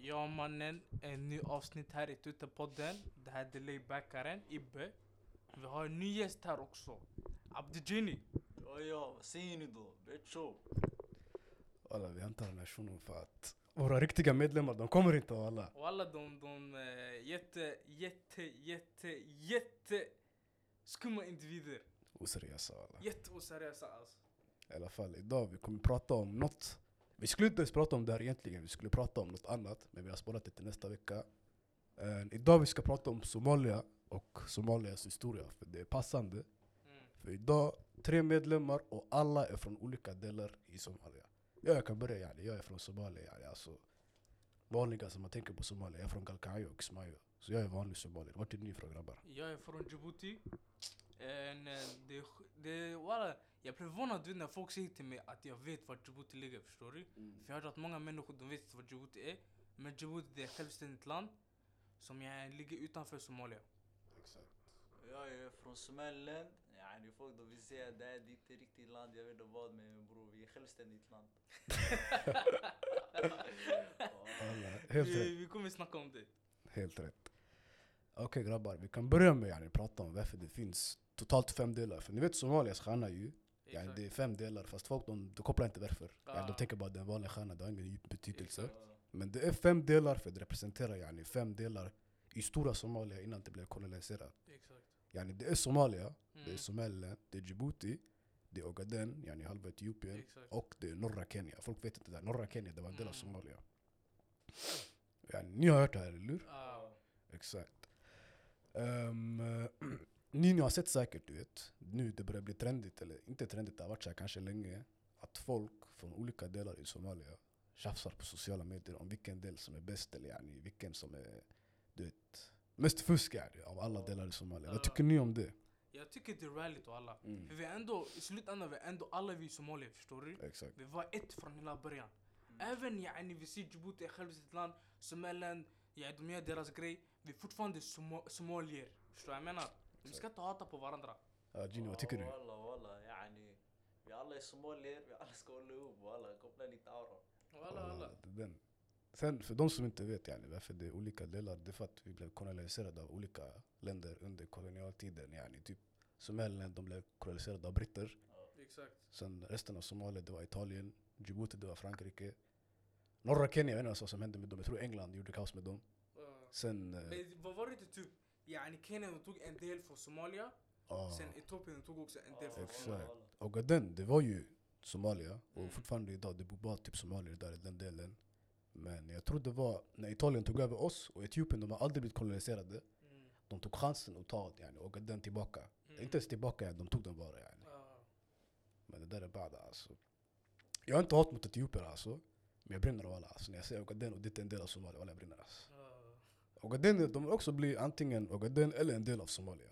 Ja mannen, en ny avsnitt här i Tutepodden. Det här är Delay-backaren, Ibbe. Vi har en ny gäst här också, Abdigini. Ja, vad säger ni då? Betcho. Alla, vi hämtar den här shunon för att våra riktiga medlemmar, de kommer inte alla. Och alla de jätte skumma individer. Oseriösa alla. Jätteoseriösa alltså. I alla fall idag, vi kommer prata om något. Vi skulle inte ens prata om det här egentligen, vi skulle prata om något annat. Men vi har sparat det till nästa vecka. Idag vi ska prata om Somalia och Somalias historia. För det är passande. För idag, 3 medlemmar och alla är från olika delar i Somalia. Jag kan börja, yani. Jag är från Somalia. Yani. Alltså, vanliga som man tänker på Somalia, jag är från Galkayo och Kismayo. Så jag är vanlig somalier. Vart är ni från grabbar? Jag är från Djibouti. Walla, jag blir förvånad när folk säger till mig att jag vet var Djibouti ligger, förstår du? För jag har hört att många människor, de vet inte vad Djibouti är. Men Djibouti, det är ett självständigt land som ligger utanför Somalia. Exakt. Jag är från Somaliland. Yani folk då vill säga det är inte riktigt land, jag vet inte vad, men bror, vi är självständigt land. Helt rätt. Vi kommer snacka om det. Helt rätt. Okej grabbar, vi kan börja med att prata om varför det finns totalt 5 delar. För ni vet Somalias stjärna ju. Yani, det är 5 delar, fast folk de kopplar inte varför. Yani, de tänker bara att det är en vanlig stjärna, det har ingen djup betydelse. Men det är 5 delar för det representerar yani 5 delar i stora Somalia innan det blev koloniserat. Exakt. Yani, det är Somalia, det är Somaliland, det är Djibouti, det är Ogaden, yani halva Etiopien, Exakt. och det är norra Kenya. Folk vet inte det där. Norra Kenya, det var en del av Somalia. Yani, ni har hört det här, eller hur? Exakt. Ni har sett säkert, du vet, nu det börjar bli trendigt, eller inte trendigt, det har varit så här kanske länge, att folk från olika delar i Somalia tjafsar på sociala medier om vilken del som är bäst, eller yani, vilken som är, du vet, mest fusk av alla delar i Somalia. Vad tycker ni om det? Jag tycker det är rallyt och alla. För vi är ändå, i slutändan, vi är ändå alla vi i Somalia, förstår du? Exakt. Vi var ett från hela början. Även vi ser Djibouti är självständigt land, Somaliland, de gör deras grej. Vi är fortfarande somalier, förstår jag menar? Vi ska inte hata på varandra. Gino, vad tycker du? Walla, yani. Vi alla är somalier, vi alla ska hålla ihop, walla. Koppla lite aura. Walla. Den. Sen för de som inte vet yani, varför det är olika delar, det är för att vi blev koloniserade av olika länder under kolonialtiden. Yani, typ Somaliland, de blev koloniserade av britter. Exakt. Sen resten av Somalia, det var Italien. Djibouti, det var Frankrike. Norra Kenya, jag vet inte vad som hände med dem. Jag tror England gjorde kaos med dem. Sen... Men vad var det typ? Kenya tog en del från Somalia. Sen Etiopien tog också en del från Somalia. Exakt. Och det var ju Somalia. Och fortfarande idag, det bor bara typ somalier där i den delen. Men jag tror det var när Italien tog över oss och Etiopien, de har aldrig blivit koloniserade. De tog chansen att ta Ogaden tillbaka. Inte ens tillbaka, de tog den bara. Yani. Men det där är bara alltså. Jag har inte hat mot Etiopien alltså. Men jag brinner av alla. Alltså, när jag säger Ogaden och det är en del av Somalia, alla jag brinner alltså. Ogaden, de vill också bli antingen Ogaden eller en del av Somalia.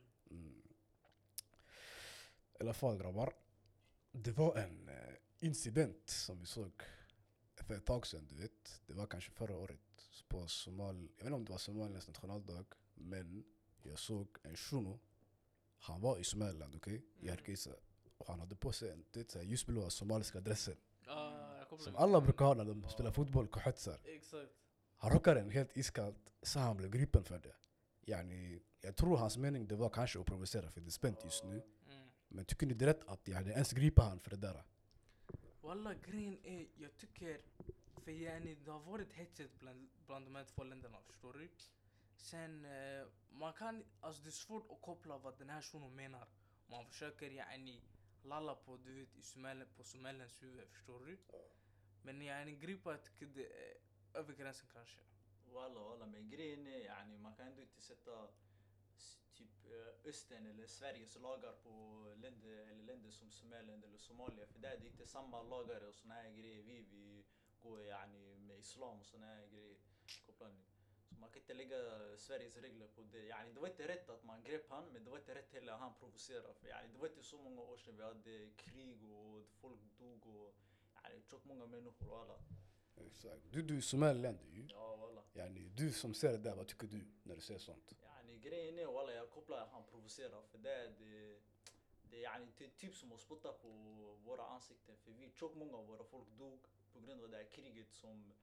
I alla fall grabbar. Det var en incident som vi såg för ett tag sedan, du vet. Det var kanske förra året på jag vet inte om det var Somalias nationaldag, men jag såg en shuno. Han var i Somaliland, okej? I Hargeisa. Och han hade på sig en ljusblåa somaliska dressen. Som alla brukar ha när de spelar fotboll, kohetsar. Exakt. Han rockade den helt iskallt, så han blev gripen för det. Yani, jag tror hans mening det var kanske att provocera, för det är spänt just nu. Men tycker ni det är rätt att ens gripa han för det där? Walla, grejen är, jag tycker, för det har varit hetsigt bland de här 2 länderna, förstår du? Sen, man kan, alltså det är svårt att koppla vad den här shunon menar. Man försöker lalla på, du vet, på Somalilands huvud, förstår du? Men gripa, jag tycker det är över gränsen kanske. Walla, men grejen är, yani, man kan ändå inte sätta typ Östern eller Sveriges lagar på länder som Somaliland eller Somalia. För det är inte samma lagar och såna här grejer. Vi går yani med islam och såna här grejer. Kopplar ni? Så man kan inte lägga Sveriges regler på det. Yani, det var inte rätt att man grep han, men det var inte rätt heller att han provocerade. För yani, det var inte så många år sedan vi hade krig och folk dog och tjock många människor och alla. Exakt. Du är Somaliland ju. Ja, walla. Yani, du som ser det där, vad tycker du när du ser sånt? Yani, grejen är, walla, jag kopplar han provocerar. För det är typ som att spotta på våra ansikten. För tjock många av våra folk dog på grund av det här kriget som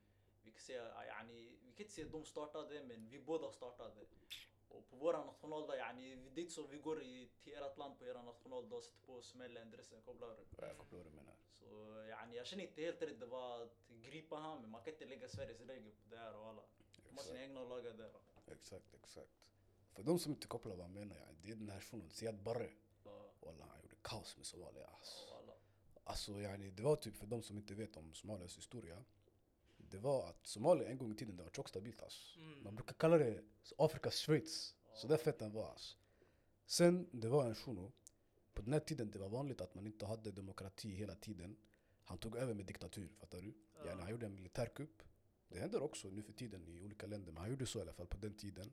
vi kan säga يعني vi kan inte säga de startade men vi båda startade. Och på våra nationaldag يعني det är inte så vi går till ert land på era nationaldag sätter på smällen dressen kopplar. Jag förstår vad du menar. Så يعني jag känner inte helt rätt det var att gripa han men man kan inte lägga Sveriges regel på det här och alla. De har sina egna lagar där. Exakt. För de som inte kopplar vad jag menar, det är den här shunon, Siad Barre. Ja, Wallah, han gjorde kaos med Somalia. Alltså. alla. Alltså yani, det var typ för de som inte vet om Somalias historia. Det var att Somalia en gång i tiden det var tjockt stabilt alltså. Man brukar kalla det Afrikas Schweiz. Så där fett den var alltså. Sen det var en shuno. På den här tiden det var vanligt att man inte hade demokrati hela tiden. Han tog över med diktatur, fattar du? Yani, han gjorde en militärkupp. Det händer också nu för tiden i olika länder. Men han gjorde så i alla fall på den tiden.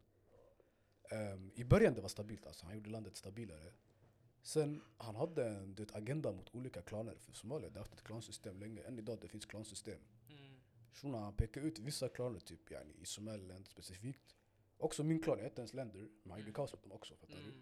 I början det var stabilt alltså. Han gjorde landet stabilare. Sen han hade en agenda mot olika klaner. För Somalia det har haft ett klansystem länge. Än idag det finns klansystem. Shuna han pekar ut vissa klaner typ yani, i Somaliland specifikt. Också min klan, jag är inte ens länder. Men han gjorde kaos mot dem också, fattar du?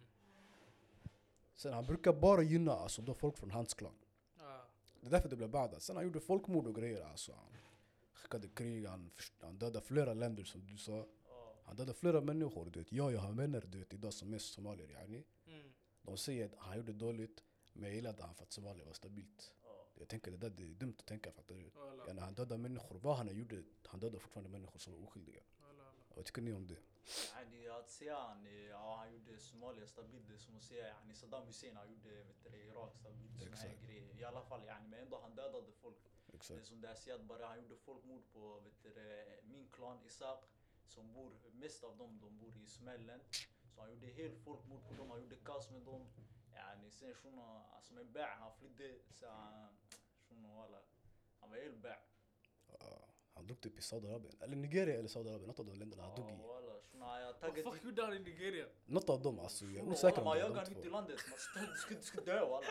Sen han brukar bara gynna alltså, då folk från hans klan. Det är därför det blev bad. Sen han gjorde folkmord och grejer alltså. Han skickade krig, han dödade flera länder som du sa. Han dödade flera människor, du vet. Jag har vänner, du vet, idag som är somalier yani. De säger att han gjorde dåligt, men jag gillade han för att Somalia var stabilt. Jag tänker det där är dumt att tänka, fattar du? Ja, när han dödade människor, vad han gjorde, han dödade fortfarande människor som var oskyldiga. Vad tycker ni om det? يعني att säga han gjorde Somalia stabilt det är som att säga يعني Saddam Hussein han gjorde Irak stabilt såna här grejer. I alla fall يعني men ändå han dödade folk. Det är som det här Siad bara han gjorde folkmord på min klan Isak som bor mest av dem de bor i Somaliland. Så han gjorde helt folkmord på dem, han gjorde kaos med dem. يعني sen shuno som en bär han flydde så shuno walla han var helt bär. Han dog typ i Saudiarabien. Eller Nigeria eller Saudiarabien. Något av de länderna han dog i. Walla shuno jag Vad taggade fuck gjorde han i Nigeria? Något av dem alltså. Jag är osäker om man det jagar var de mitt i två. landet. Du ska dö walla.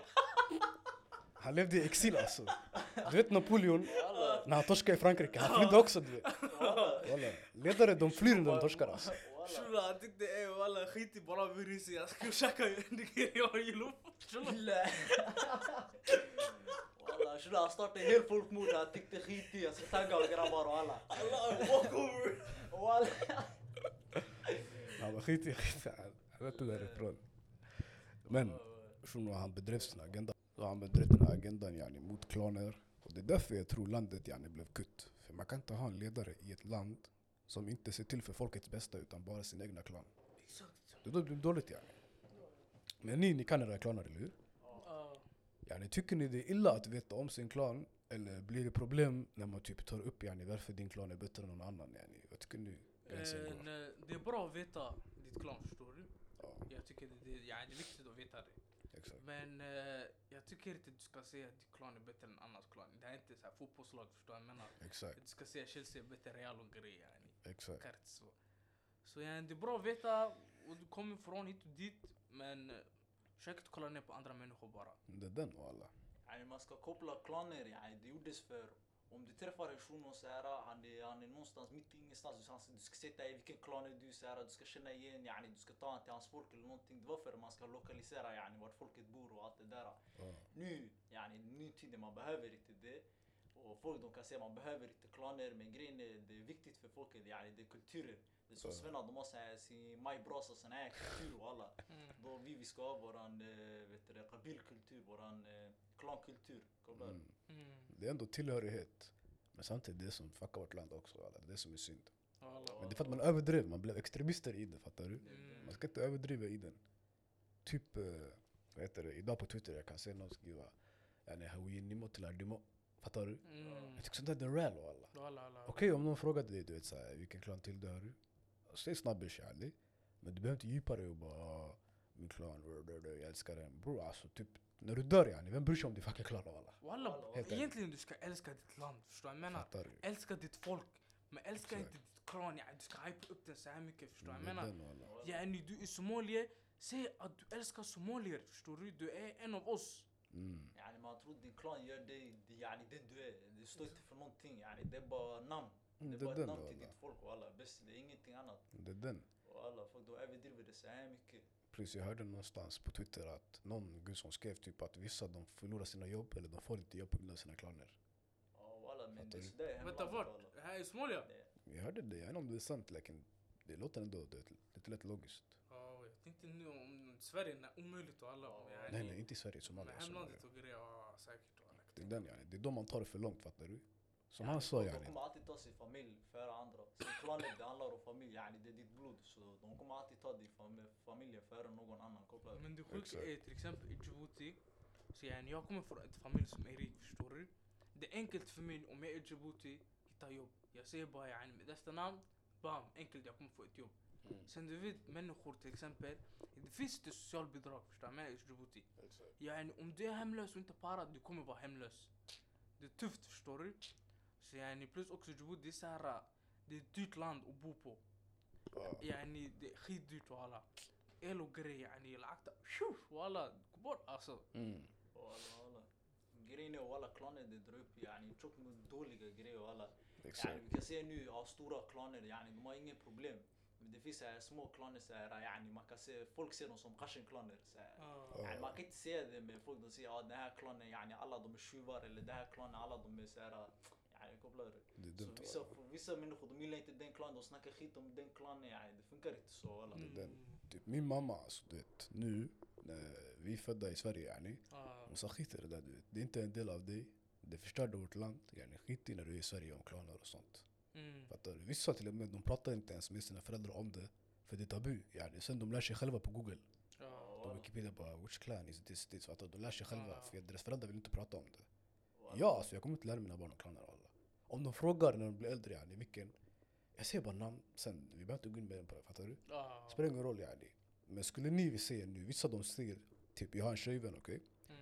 Han levde i exil alltså. Du vet Napoleon, när han torskade i Frankrike. Han flydde också du vet. Walla. Ledare de flyr när de torskar alltså. Shula han tyckte walla skit i bara virus. Jag ska käka Nigeria och gillo. لا والله شو لا startade helt folkmord han tyckte skit i jag ska tagga och grabbar och alla Walk over. walla Han var skit. Han vet det därifrån. Men shuno han bedrev sin agenda. Så han bedrev den här agendan yani, mot klaner. Och det är därför jag tror landet yani, blev kutt. För man kan inte ha en ledare i ett land som inte ser till för folkets bästa utan bara sin egna klan. Det är dåligt yani. Men ni kan era klaner, eller hur? Yani, tycker ni det är illa att veta om sin klan? Eller blir det problem när man typ tar upp yani, varför din klan är bättre än någon annan? Yani? Vad tycker ni? Det är bra att veta ditt klan, förstår du? Ja, Jag tycker det är viktigt att veta det. exakt. Men jag tycker inte att du ska säga att ditt klan är bättre än annans klan. Det är inte så här fotbollslag, förstår jag menar. Exakt. Du ska säga Chelsea är bättre Real och grejer yani. Exakt. Kart så. Så yani, det är bra att veta och du kommer från hit och dit. Men försök inte kolla ner på andra människor bara. Det är den och alla. يعني man ska koppla klaner يعني det gjordes för om du träffar en shuno så här han är någonstans mitt i ingenstans du ska sätta i vilken klan är du så här du ska känna igen يعني du ska ta han till hans folk eller någonting det var för man ska lokalisera يعني vart folket bor och allt det där. Nu يعني ny tid man behöver inte det och folk de kan säga man behöver inte klaner men grejen är det är viktigt för folket يعني det är kulturen. Det är så svennar de har så här sin majbrasa sån här kultur och alla. Då vi ska ha våran vet du kabilkultur våran klankultur. Det är ändå tillhörighet. Men samtidigt det som fuckar vårt land också. Alla. Det är som är synd. Men det är för att man överdrev. Man blev extremister i det, fattar du? Man ska inte överdriva i den. Typ, vad heter det? Idag på Twitter jag kan se någon skriva yani hawinimo till ardimo. Fattar du? Jag tycker sånt där är real och alla. Okej, om någon frågar dig, du vet såhär, vilken klan tillhör du? Säg snabbish yani. Men du behöver inte djupa dig och bara min klan, jag älskar den. Bro, alltså typ när du dör yani, vem bryr sig om din fucking klan och alla? Walla, egentligen du ska älska ditt land, förstår jag menar? Älska ditt folk, men älska inte ditt klan, ja, du ska hypa upp den så här mycket, förstår jag menar? Ja, du är somalier, säg att du älskar somalier, förstår du? Du är en av oss. يعني man tror din klan gör dig يعني den du är, det står inte för någonting يعني det är bara namn. Det är bara ett namn till ditt folk och alla, bäst det är ingenting annat. Det är den. Och alla folk då överdriver det så här mycket. Precis, jag hörde någonstans på Twitter att någon gud som skrev typ att vissa de förlorar sina jobb eller de får inte jobb på grund av sina klaner. Ja, alla men det är sådär hemlandet. Vänta, vart? här i Somalia? Jag hörde det, jag vet inte om det är sant, läken det låter ändå lite lätt logiskt. Ja, jag tänkte nu om Sverige är omöjligt och alla. Nej, inte i Sverige, Somalia. Men hemlandet och grejer, ja säkert. Det är den yani, det är då man tar det för långt, fattar du? Som han sa De yani. kommer alltid ta sin familj före andra. Sin klanet, det handlar om familj, yani det är ditt blod. Så de kommer alltid ta din familj före någon annan, kopplar. Men det sjuka är till exempel i Djibouti. Så yani, jag kommer från ett familj som är rik, förstår du? Det är enkelt för mig om jag är i Djibouti, hitta jobb. Jag säger bara yani, med detta namn, bam, enkelt jag kommer få ett jobb. Sen du vet människor till exempel, det finns det socialbidrag, förstår du? I Djibouti. Yani, om du är hemlös och inte parat, du kommer vara hemlös. Det är tufft, förstår du? Så yani, plus också Djibouti, det är så här, det är ett dyrt land att bo på. يعني det är skitdyrt och alla. El och grejer يعني العقد walla gå bort alltså. Walla. Grejen är walla klaner det drar upp yani tjock med dåliga grejer och alla. Exakt. Yani, vi kan se nu av stora klaner yani de har inga problem. Men det finns så här små klaner så här yani man kan se folk ser dem som kashin-klaner så här. Yani, man kan inte se det med folk de säger den här klanen yani alla de är tjuvar eller den här klanen alla de är så här yani kopplar Det är dumt. så vissa människor de gillar inte den klanen de snackar skit om den klanen yani det funkar inte så walla. Typ min mamma, alltså, du vet, nu när vi är födda i Sverige yani, hon sa skit i det där, du vet. Det är inte en del av dig, det förstörde vårt land, yani skit i när du är i Sverige om klaner och sånt. Fattar du? Vissa till och med, de pratar inte ens med sina föräldrar om det, för det är tabu, yani. Sen de lär sig själva på Google. De Wikipedia bara, which clan is this, fattar du? De lär sig själva, för deras föräldrar vill inte prata om det. Ja, alltså jag kommer inte lära mina barn om klaner och alla. Om de frågar när de blir äldre, yani, vilken, jag säger bara namn, sen vi behöver inte gå in med den på det, fattar du? Spelar ingen roll yani. Men skulle ni se nu, vissa de säger, typ jag har en tjejvän, okej?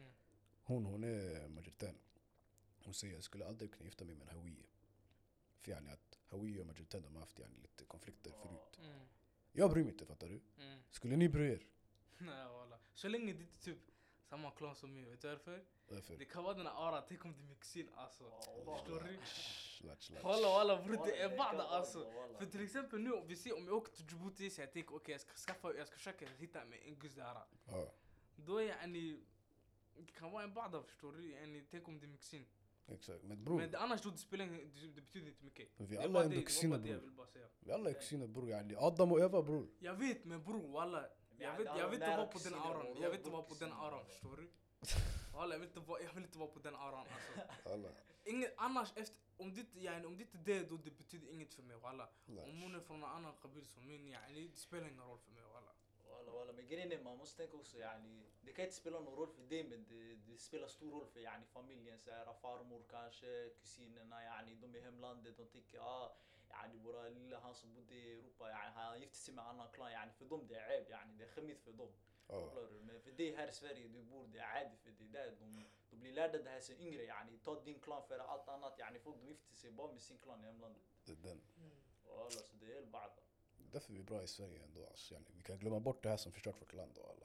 Hon är majoritän. Hon säger jag skulle aldrig kunna gifta mig med en Hawiye. För yani att Hawiye och majoritän de har haft yani lite konflikter förut. Jag bryr mig inte, fattar du? Skulle ni bry er? Nej walla. Så länge det inte typ samma klan som mig, vet du varför? Varför? Det kan vara den här aura, tänk om det är min kusin alltså. Förstår du? Slatch. Walla bror det är bada alltså. För till exempel nu om vi ser om jag åker till Djibouti så jag tänker okej jag ska försöka hitta mig en gus där. Då är yani det kan vara en bada, förstår du? Yani tänk om det är min kusin. Exakt, men bror. Men annars då det betyder inte mycket. Vi alla är ändå kusiner, bror. Vi alla är kusiner, bror, yani. Adam och Eva, bror. Jag vet, men bror walla. Jag vet inte vara på den auran. Jag vet inte vara på den auran, förstår du? Walla, jag vill inte vara på den auran alltså. Inget annars efter om det inte det då det betyder inget för mig walla. Om hon är från en annan kabil som min yani det spelar ingen roll för mig walla. Walla men grejen är man måste tänka också yani det kan inte spela någon roll för dig men det spelar stor roll för yani familjen så här farmor kanske kusinerna yani de är hemlandet de tänker yani våra lilla han som bodde i Europa yani han gifte sig med annan klan yani för dem det är äb yani det är skämmigt för dem. Men för dig här i Sverige du bor det är ärligt för dig där de blir lärda det här sen yngre yani ta din klan för allt annat yani folk de gifter sig bara med sin klan i hemlandet. Det är den. Walla så det är helt bada. Därför är vi bra i Sverige ändå alltså, yani. Vi kan glömma bort det här som förstört vårt land och alla.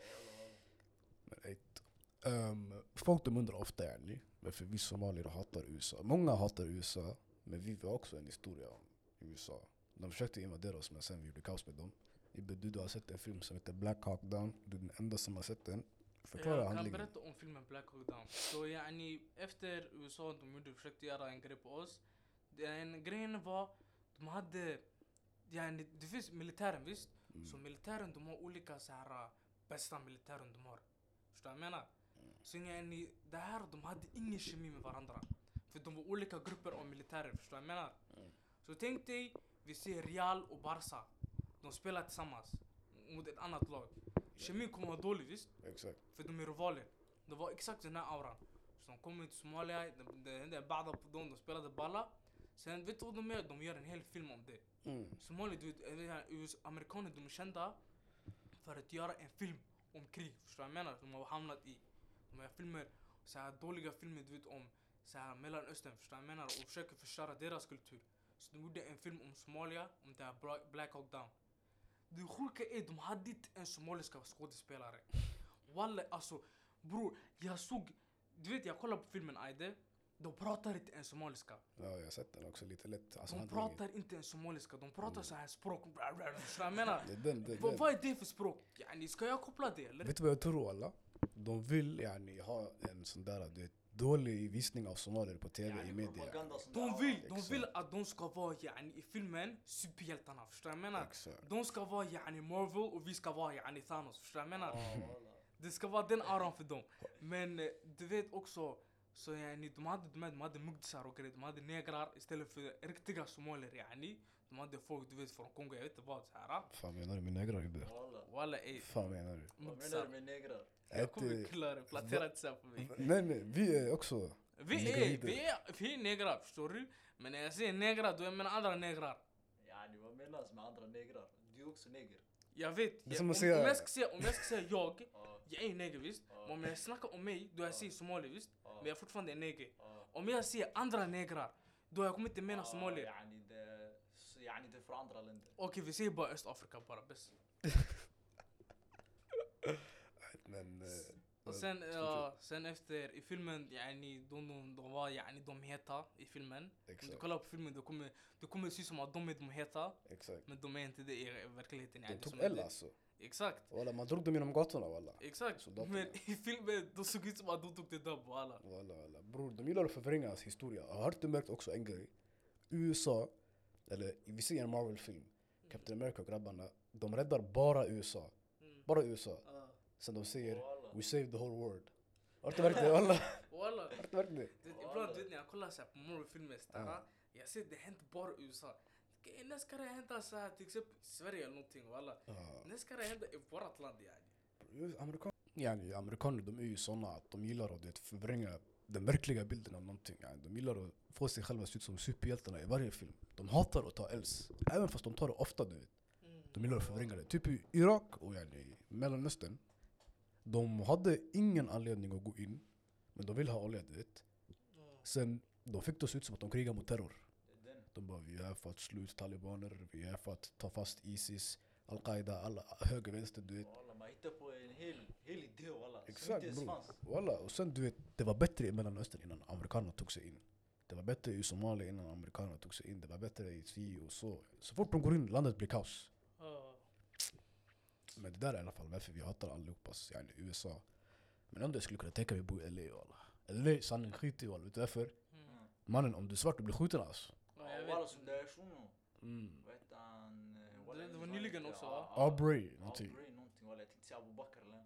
Men folk de undrar ofta yani, varför vi somalier hatar USA. Många hatar USA, men vi har också en historia om USA. De försökte invadera oss men sen vi gjorde kaos med dem. Du har sett en film som heter Black Hawk Down. Du är den enda som har sett den. Förklara handlingen. Jag kan berätta om filmen Black Hawk Down. Så yani efter USA de försökte göra en grej på oss. Den grejen var de hade yani det finns militären visst. Så militären de har olika så här bästa militären de har. Förstår du vad jag menar? Så yani det här de hade ingen kemi med varandra. För de var olika grupper av militärer, förstår du vad jag menar? Så tänk dig vi ser Real och Barca. De spelar tillsammans mot ett annat lag. Kemin kommer vara dålig visst? Exakt. För de är rivaler. Det var exakt den här auran. Så de kommer till Somalia, det hände bada på dem, de spelade balla. Sen vet du vad de gör? De gör en hel film om det. Somalia, du vet, amerikaner de är kända för att göra en film om krig. Förstår du vad jag menar? De har hamnat i. De har filmer, så här dåliga filmer du vet om så här Mellanöstern, förstår du vad jag menar? Och försöker förstöra deras kultur. Så de gjorde en film om Somalia, om det här Black Hawk Down. Det sjuka är, de hade inte en somaliska skådespelare. Walla, alltså, bror, jag såg, du vet, jag kollade på filmen Aide. De pratar inte en somaliska. Ja, jag har sett den också lite lätt. Alltså, de pratar inte en somaliska, de pratar så här språk. Förstår jag menar? Vad är det för språk? Yani, ska jag koppla det eller? Vet du vad jag tror alla? De vill yani ha en sån där dålig visning av somalier på tv يعني i media. propaganda som De det- vill, exakt. de vill att de ska vara yani, i filmen superhjältarna, förstår du vad jag menar? Exakt. De ska vara yani Marvel och vi ska vara yani Thanos, förstår du vad jag menar? Ja, walla. Det ska vara den aran för dem. Men du vet också, så yani, de hade mugdisar och grejer, de hade negrar istället för riktiga somalier yani. De hade folk du vet från Kongo, jag vet inte vad så här. Fan menar du med negrar ibbe? Walla. Walla ey, Fan menar du? Vad menar mugdisar. du med negrar? Jag kommer klara det, plantera inte så här på mig. Nej men vi är också Vi är negrar, förstår du? Men när jag säger negrar, då jag menar andra negrar. Yani vad menas med andra negrar? Du är också neger. Jag vet, Det är som om att säga- jag ska säga jag, Ja, jag är neger visst. Ja. Men om jag snackar om mig, då jag säger somali visst. ja, Men jag är fortfarande neger. ja. Om jag säger andra negrar, då jag kommer inte mena somalier. يعني det är från andra länder. Okej, vi säger bara Östafrika bara bäst. men Och sen efter i filmen, yani, de var yani, de heta i filmen. Om du exakt. kollar på filmen, det kommer se som att de är de heta. Exakt. Men de är inte det i verkligheten. De Yani, tog som L det- alltså. Exakt, Walla man drog dem genom gatorna walla. exakt. Soldaterna. Men i filmen, de såg ut som att de tog det där på alla. Walla. Bror, de gillar att förvränga hans historia. Har du märkt också en grej? USA, eller vi ser en Marvel-film, Captain America och grabbarna, de räddar bara USA. Mm. Bara USA. Sen de säger Walla. we saved the whole world. Har du märkt det walla? Walla. Har du märkt det? Ibland du vet när jag kollar så här på Marvel-filmer, jag ser det händer bara i USA. När ska det hända så här till exempel i Sverige eller någonting walla? När ska det hända i vårat land yani? Amerikaner de är ju såna att de gillar att förvränga den verkliga bilden av någonting. Yani, de gillar att få sig själva se ut som superhjältarna i varje film. De hatar att ta Els, även fast de tar det ofta du vet. De gillar att förvränga det. Typ i Irak och yani, Mellanöstern. De hade ingen anledning att gå in, men de vill ha olja du vet. Sen de fick det se ut som att de krigar mot terror. Det är den. De bara vi är här för att slå ut talibaner, vi är här för att ta fast Isis, Al-Qaida, alla höger, vänster du vet. Walla, man hittar på en hel idé walla. Som Exakt inte ens bror. fanns. Walla, och sen du vet, det var bättre i Mellanöstern innan amerikanerna tog sig in. Det var bättre i Somalia innan amerikanerna tog sig in. Det var bättre i si och så. Så fort de går in, landet blir kaos. Men det där är i alla fall varför vi hatar allihopas, yani USA. Men ändå jag skulle kunna tänka mig bo i LA walla. LA, sanning skit i walla. Vet du varför? Mm. Mannen, om du är svart du blir skjuten alltså. Ja, Ja, jag walla vet. som det är shuno. Mm. Vad heter han? Det var nyligen också, va? Aubrey, någonting. Aubrey någonting walla. Jag tänkte säga Abu Bakr eller?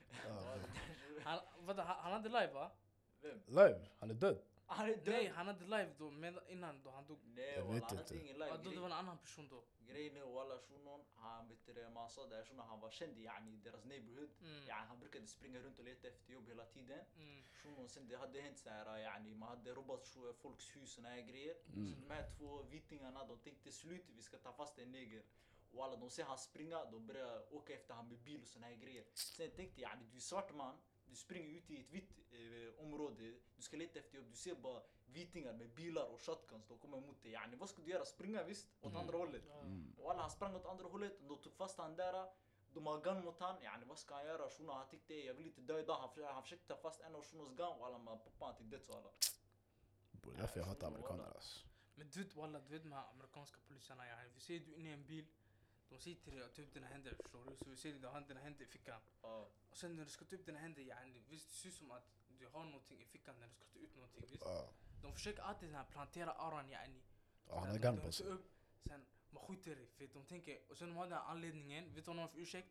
Han hade live va? Vem? Live, han är död. Han är död. Nej, han hade live då, men innan då han dog. Nej Jag walla, vet han inte. hade ingen Ja, då det live. var en annan person då. Grejen är walla shunon, han vet det man sa där shunon, han var känd yani i deras neighborhood. Mm. Yani han brukade springa runt och leta efter jobb hela tiden. Mm. Shunon sen det hade hänt så här yani man hade robbat folks hus och såna här grejer. Mm. Så de här två vitingarna de tänkte slut vi ska ta fast en neger. Och alla de ser han springa, de börjar åka efter han med bil och såna här grejer. Sen tänkte jag, yani, du är svart man, du springer ut i ett vitt område, du ska leta efter jobb, du ser bara vitingar med bilar och shotguns, de kommer mot dig. Yani, vad ska du göra? Springa visst, åt andra hållet. Och alla han sprang åt andra hållet, de tog fast han där, de har gun mot han, yani, vad ska han göra? Shuno han tyckte jag vill inte dö idag, han försökte ta fast en av Shunos gun och alla man poppa han till döds och alla. Bror, det är därför jag hatar amerikaner alltså. Men du vet walla, du vet de här amerikanska poliserna yani. Vi ser du inne i en bil, de säger till dig att ta upp dina händer, förstår du? Så vi ser dig, du har dina händer i fickan. Ja. Och sen när du ska ta upp dina händer yani, visst det ser ut som att du har någonting i fickan när du ska ta ut någonting visst? Ja, De försöker alltid den här plantera aran yani. ja, han Sen har de gun tar på sig. upp, sen man skjuter dig för de tänker, och sen de har den här anledningen, vet du vad de har för ursäkt?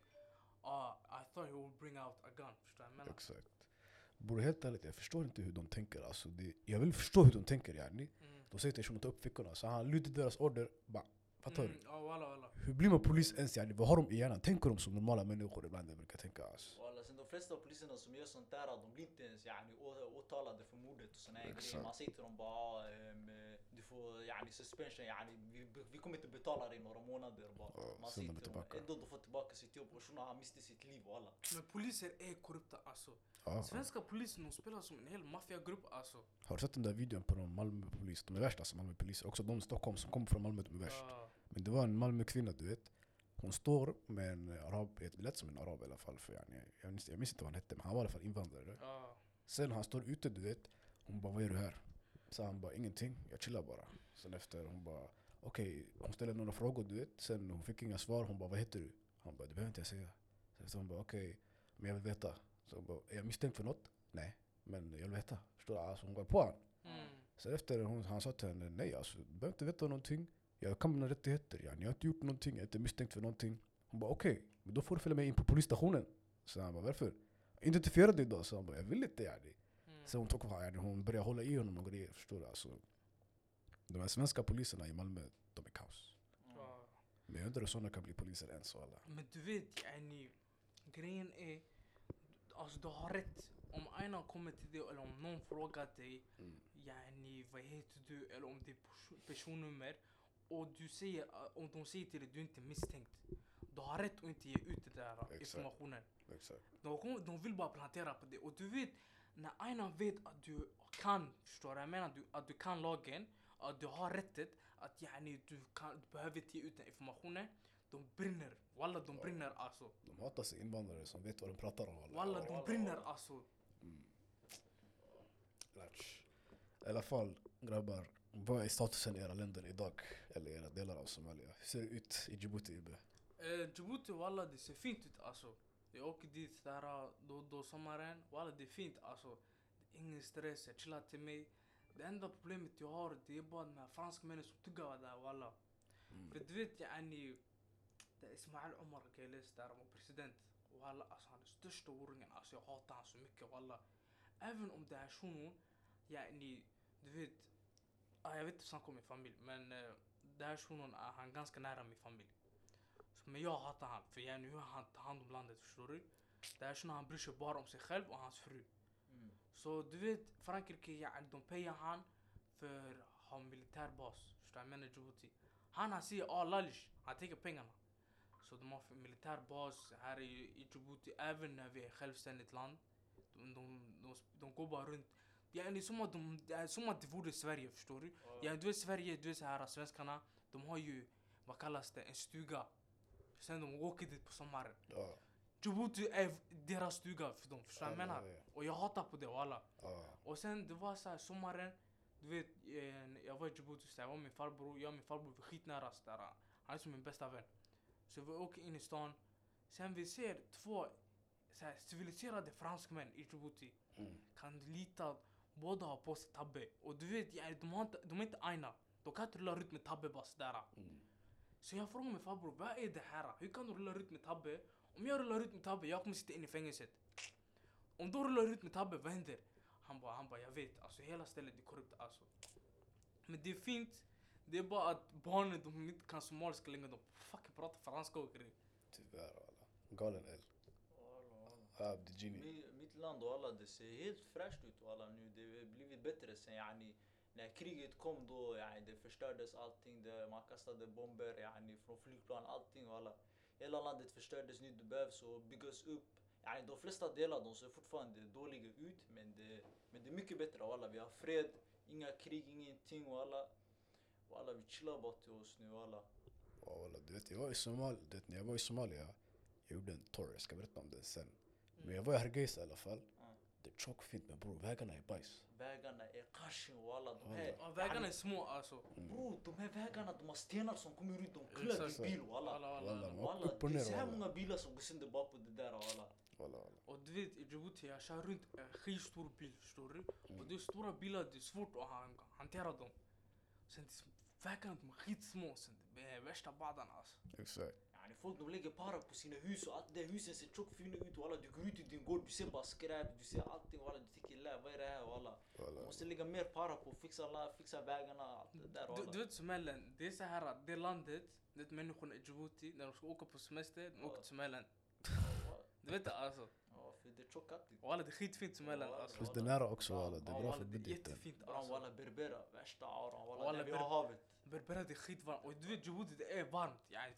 I thought he would bring out a gun, förstår du vad jag menar? Exakt. Bror helt ärligt, jag förstår inte hur de tänker alltså. Jag vill förstå hur de tänker yani. Mm. De säger till shunon att ta upp fickorna, så han lyder deras order. Bara, fattar du? Ja walla. Hur blir man polis ens yani? Vad har de i hjärnan? Tänker de som normala människor ibland? Jag brukar tänka alltså. Walla, sen de flesta av poliserna som gör sånt där, de blir inte ens yani, åtalade för mordet och såna här Exakt. grejer. Man säger till dem bara du får yani, suspension, yani, vi kommer inte betala dig några månader. Bara. Ja, Man sen säger de är till dem, tillbaka. ändå de får tillbaka sitt jobb och shunon han miste sitt liv och alla. Men poliser är korrupta alltså. Ja. Svenska polisen de spelar som en hel maffiagrupp alltså. Har du sett den där videon på någon Malmöpolis? De är värsta alltså, Malmöpoliser. Också de i Stockholm som kommer från Malmö, de är värst. Ja. Men det var en Malmökvinna du vet. Hon står med en arab, det lät som en arab i alla fall. För yani, jag minns inte vad han hette, men han var i alla fall invandrare. Ja. Sen han står ute du vet. Hon bara, vad gör du här? Så han bara, ingenting, jag chillar bara. Sen efter hon bara, okej, hon ställde några frågor du vet. Sen hon fick inga svar, hon bara, vad heter du? Han bara, det behöver inte jag säga. Så hon bara, okej, men jag vill veta. Så hon bara, är jag misstänkt för något? Nej. Men jag vill veta. Förstår du? Alltså hon går på han. Mm. Så efter han sa till henne, nej alltså, du behöver inte veta någonting. Jag kan mina rättigheter. Jag har inte gjort någonting, jag är inte misstänkt för någonting. Hon bara okej, men då får du följa med in på polisstationen. Så han bara varför? Identifiera dig då. Så han bara jag vill inte yani. Så hon tog hon började hålla i honom och grejer, förstår du? Alltså, de här svenska poliserna i Malmö, de är kaos. Ja. Men jag undrar hur sådana kan bli poliser ens och alla. Men du vet, yani, grejen är, alltså du har rätt. Om en kommer till dig eller om någon frågar dig, yani, vad heter du, eller om det är personnummer, och du säger, om de säger till dig du är inte misstänkt, du har rätt att inte ge ut det där informationen. Exakt. De vill bara plantera på det. Och du vet, när en vet att du kan, förstår jag menar, att du kan lagen, att du har rättet, att yani, du behöver inte ge ut den informationen, de brinner. Walla, de brinner alltså. De hatar sig invandrare som vet vad de pratar om. Walla, de brinner alltså. I alla fall, grabbar, vad är statusen i era länder idag? Eller era delar av Somalia? Hur ser det ut i Djibouti, Ibbe? Djibouti, walla, det ser fint ut alltså. Jag åker dit där då sommaren, walla, det är fint alltså. Ingen stress, jag chillar till mig. Det enda problemet jag har, det är bara de här franskmännen som tuggar där, walla. För du vet, yani, det är Ismail Omar Geles där, han var president. Walla, alltså han är största oringen, alltså jag hatar han så mycket, walla. Även om det är shunon, yani, du vet, jag vet inte snacka om min familj, men det här shunon är han ganska nära min familj. Så, men jag hatar han, för yani hur han tar hand om landet, förstår du? Det här shunon, han bryr sig bara om sig själv och hans fru. Så du vet, Frankrike, yani, de payar han för att ha militärbas, förstår jag menar Djibouti. Han säger lalish, han tänker pengarna. Så de har militärbas här i Djibouti, även när vi är självständigt land. De går bara runt. Det är som att det vore Sverige, förstår du? Ja, du vet Sverige, du vet så här, svenskarna, de har ju, vad kallas det, en stuga. Sen de åker dit på sommaren. Ja. Djibouti är deras stuga för dem, förstår jag menar? Ja. Och jag hatar på det, alla. Ja. Och sen det var så här, sommaren, du vet, jag var i Djibouti, så jag var med min farbror, jag och min farbror var skitnära så där. Han är som min bästa vän. Så vi åker in i stan. Sen vi ser två så här, civiliserade franskmän i Djibouti. Kan du lita, båda har på sig tabbe. Och du vet, de är inte aina. De kan inte rulla ut med tabbe bara sådär. Så jag frågar min farbror, vad är det här? Hur kan du rulla ut med tabbe? Om jag rullar ut med tabbe, jag kommer sitta in i fängelset. Om du rullar ut med tabbe, vad händer? Han bara, jag vet. Alltså hela stället är korrupt alltså. Men det är fint. Det är bara att barnen, de inte kan somaliska längre. De fucking pratar franska och grejer. Tyvärr alla. Galen el. The genie. Mitt land och alla, det ser helt fräscht ut och alla nu. Det har blivit bättre sen yani. När kriget kom då, yani, det förstördes allting. Man kastade bomber yani, från flygplan, allting och alla. Hela landet förstördes nu, det behövs och byggas upp. Yani, de flesta delar de ser fortfarande dåliga ut, men det är mycket bättre och alla. Vi har fred, inga krig, ingenting och alla. Och alla, vi chillar bara till oss nu och alla. Ja, du vet, när jag var i Somalia, jag gjorde en tour, jag ska berätta om det sen. Men jag var i Hargeisa i alla fall. Det är tjockfint, men bror, vägarna är bajs. Vägarna är kashin och alla de här. Ja, vägarna är små alltså. Bror, de här vägarna, de har stenar som kommer ut, de klör i bil och alla. Det är så här många bilar som går sönder bara på det där och alla. Och du vet, i Djibouti, jag kör runt en skitstor bil, förstår du? Och det är stora bilar, det är svårt att hantera dem. Sen vägarna, de är skitsmå, sen det är värsta badan alltså. Exakt. Yani folk de lägger para på sina hus och allt det husen ser tjockt fina ut och alla. Du går ut i din gård, du ser bara skräp, du ser allting och alla. Du tycker vad är det här och alla. Du måste lägga mer para på att fixa vägarna, allt det där och alla. Du vet Somaliland, det är så här, det landet, det människorna i Djibouti, när de ska åka på semester, de åker till Somaliland. Du vet det alltså. Ja, för det är tjockat. Och alla, det är skitfint Somaliland alltså. Plus det är nära också alla, det är bra för budgeten. budgeten. Jättefint alltså. alltså. Alla Berbera, värsta auran, alla där vi har havet. Berbera, det är skitvarmt. Och du vet Djibouti, det är varmt. Yani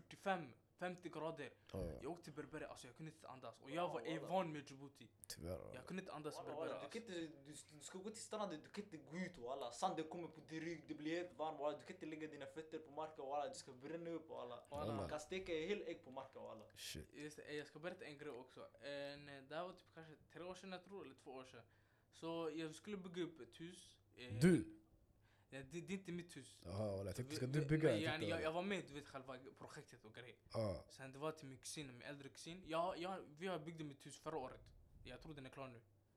50 grader. Jag åkte till Berbera, alltså jag kunde inte andas. Och jag var van med Djibouti. Tyvärr. Jag kunde inte andas i Berbera alltså. Du ska gå till stranden, du kan inte gå ut och alla. Sanden kommer på din rygg, det blir helt varmt och alla. Du kan inte lägga dina fötter på marken och alla. Du ska bränna upp och alla. Man kan steka en hel ägg på marken och alla. Shit. Just det, jag ska berätta en grej också. Det här var typ kanske 3 år sedan jag tror, eller 2 år sedan. Så jag skulle bygga upp ett hus. Du? Ja, det är inte mitt hus. Jaha, jag tänkte, ska du bygga? Jag var med, du vet, själva projektet och grejer. Sen det var till min äldre kusin. Vi har byggde mitt hus förra året. Jag tror den är klar nu.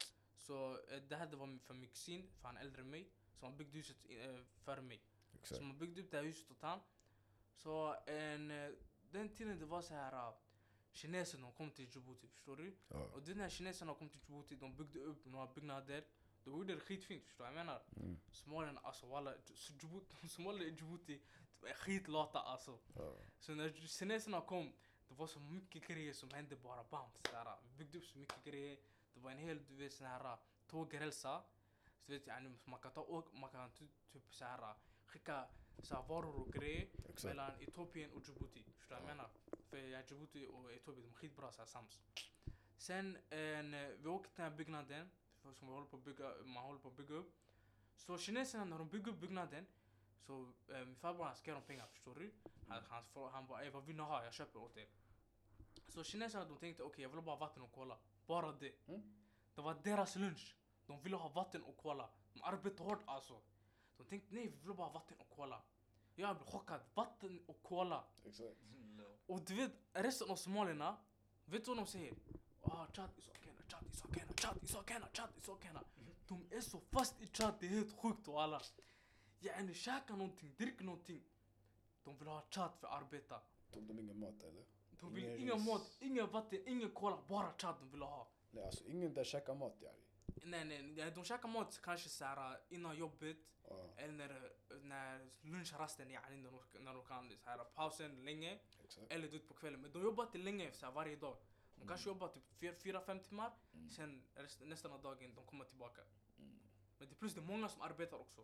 Så det här det var för min kusin, för han är äldre än mig. Så han byggde huset för mig. Exakt. Så man byggde upp det här huset åt han. Så den tiden det var så här kineserna kom till Djibouti, förstår du? Ja. Och när kineserna kom till Djibouti, de byggde upp några byggnader. De gjorde det skitfint, förstår jag menar? Somalien, alltså walla, Somalia i Djibouti, de är skitlata alltså. Ja. Så när kineserna kom, det var så mycket grejer som hände bara bam. Såhär, vi byggde upp så mycket grejer. Det var en hel, du vet, sån här tågrälsa. Så vet jag, man kan typ såhär skicka såhär varor och grejer mellan Etiopien och Djibouti. Förstår jag menar? För Djibouti och Etiopien, de är skitbra såhär sams. Sen vi åkte till den här byggnaden som man håller på att bygga upp. Så kineserna när de bygger upp byggnaden, så min farbror han ska ge dem pengar, förstår du? Han bara, vad vill ni ha? Jag köper åt er. Så kineserna de tänkte, okej, jag vill bara vatten och cola. Bara det. Det var deras lunch. De ville ha vatten och cola. De arbetade hårt alltså. De tänkte, nej, vi vill bara vatten och cola. Jag blev chockad. Vatten och cola. Exakt. Och du vet, resten av somalierna, vet du vad de säger? Chad is okena, Chad is okena, Chad is okena, Chad is okena. De är så fast i Chad, det är helt sjukt och alla. Yani käka någonting, drick någonting. De vill ha Chad för att arbeta. Tog de ingen mat eller? De vill ingen mat, ingen vatten, ingen cola, bara Chad de vill ha. Nej, alltså ingen där käkar mat yani. Nej, de käkar mat kanske såhär innan jobbet. Eller när lunchrasten, yani när de kan såhär pausen länge. Exakt. Eller ut på kvällen. Men de jobbar inte länge såhär varje dag. De kanske jobbar typ 4-5 timmar. Sen nästan av dagen de kommer tillbaka. Men det plus det är många som arbetar också.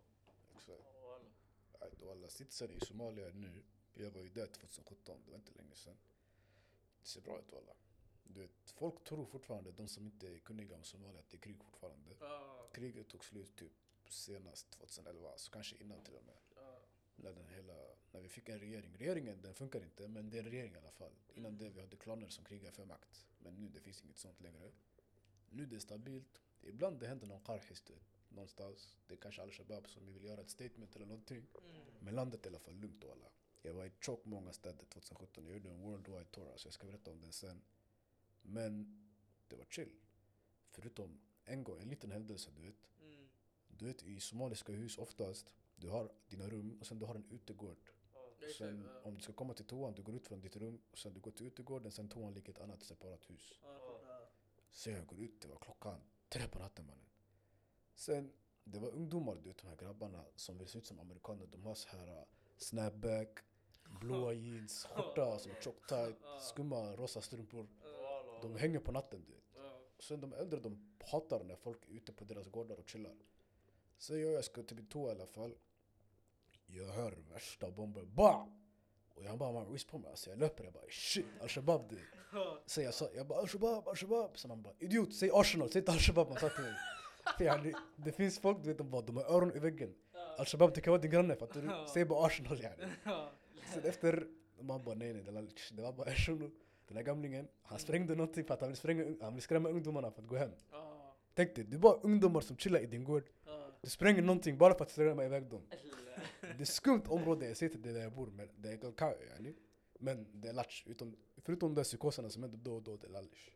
Exakt. Och alla sitsen i Somalia nu. Jag var ju där 2017, det var inte länge sedan. Det ser bra ut alla. Du vet, folk tror fortfarande, de som inte är kunniga om Somalia, att det är krig fortfarande. Kriget tog slut typ senast 2011, så kanske innan till och med. När vi fick en regering. Regeringen, den funkar inte, men det är en regering i alla fall. Innan det vi hade klaner som krigar för makt. Men nu det finns inget sånt längre. Nu det är stabilt. Ibland det händer någon qarhis någonstans. Det är kanske Al-Shabaab som vill göra ett statement eller någonting. Men landet är i alla fall lugnt och alla. Jag var i tjock många städer 2017. Jag gjorde en worldwide tour, så jag ska berätta om den sen. Men det var chill. Förutom en liten händelse, du vet. Du vet, i somaliska hus oftast, du har dina rum och sen du har en utegård. Sen om du ska komma till toan, du går ut från ditt rum och sen du går till utegården, sen toan ligger ett annat separat hus. Så jag går ut, det var klockan 3 på natten, mannen. Sen, det var ungdomar, du vet, de här grabbarna som vill se ut som amerikaner. De har så här snapback, blåa jeans, skjorta som är tjock tight, skumma rosa strumpor. De hänger på natten, du vet. Sen de äldre, de hatar när folk är ute på deras gårdar och chillar. Så jag ska till toa i alla fall. Jag hör värsta bomber. Bah! Och jag bara, man på mig. Alltså jag löper, jag bara, shit, Al-Shabaab du. Så jag bara, Al-Shabaab. Så man bara, idiot, säg Arsenal, säg inte Al-Shabaab. Man sa till mig. För det finns folk, du vet, de har öron i väggen. Al-Shabaab tycker jag var din granne, för att du säger bara Arsenal, yani. Sen efter, man bara, nej, det var bara Arsenal. Den här gamlingen, han sprängde någonting för att han vill skrämma ungdomarna för att gå hem. Tänk dig, det är bara ungdomar som chillar i din gård. Du spränger någonting bara för att skrämma iväg dem. Det är skumt område, jag säger till det där jag bor, men det är kalkao, yani. Men det är latch, förutom de psykoserna som händer då och då, det är lallish.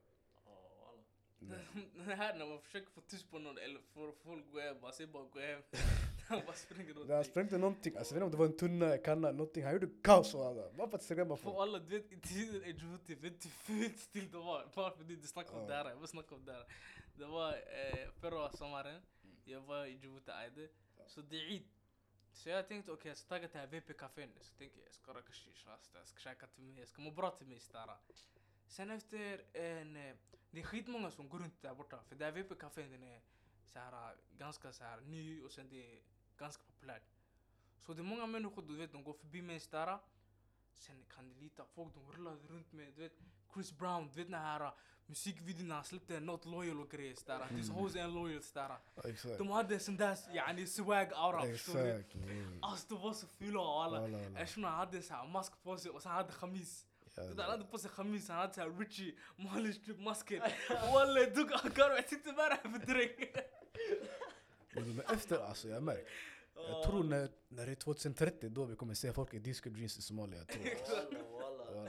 Det här när man försöker få tyst på någon eller få folk gå hem, bara säg bara gå hem. Han bara spränger någonting. Han sprängde någonting, alltså jag vet inte om det var en tunna, kanna, någonting. Han gjorde kaos och alla, bara för att skrämma folk. För alla, du vet, i tiden i Djibouti, vet du hur fult still det var? Bara för det snackar om det här, jag vill snacka om det här. Det var förra sommaren, jag var i Djibouti, så det är Eid. Så jag tänkte, okej, jag ska tagga till här VP-cafén. Så tänkte jag ska röka shisha, jag ska käka till mig, jag ska må bra till mig stara. Sen efter det är skitmånga som går runt där borta. För där VP-cafén, den är såhär, ganska såhär ny och sen det är ganska populärt. Så det är många människor, du vet, de går förbi mig stara. Sen kan det lita folk, de rullade runt med, du vet, Chris Brown, du vet den här musikvideon han släppte Not Loyal och grejer stara. This hoes and loyal stara. De hade sån där, yani swag aura, förstår du? Alltså de var så fula och alla. Eftersom han hade såhär mask på sig och sen hade khamis. Han hade på sig khamis, han hade såhär Richie, Malish typ masken. Wallah, jag tog akar och jag sitter bara här för dräng. Men efter, alltså jag märker. Jag tror när det är 2030 då vi kommer se folk i disco jeans i Somalia.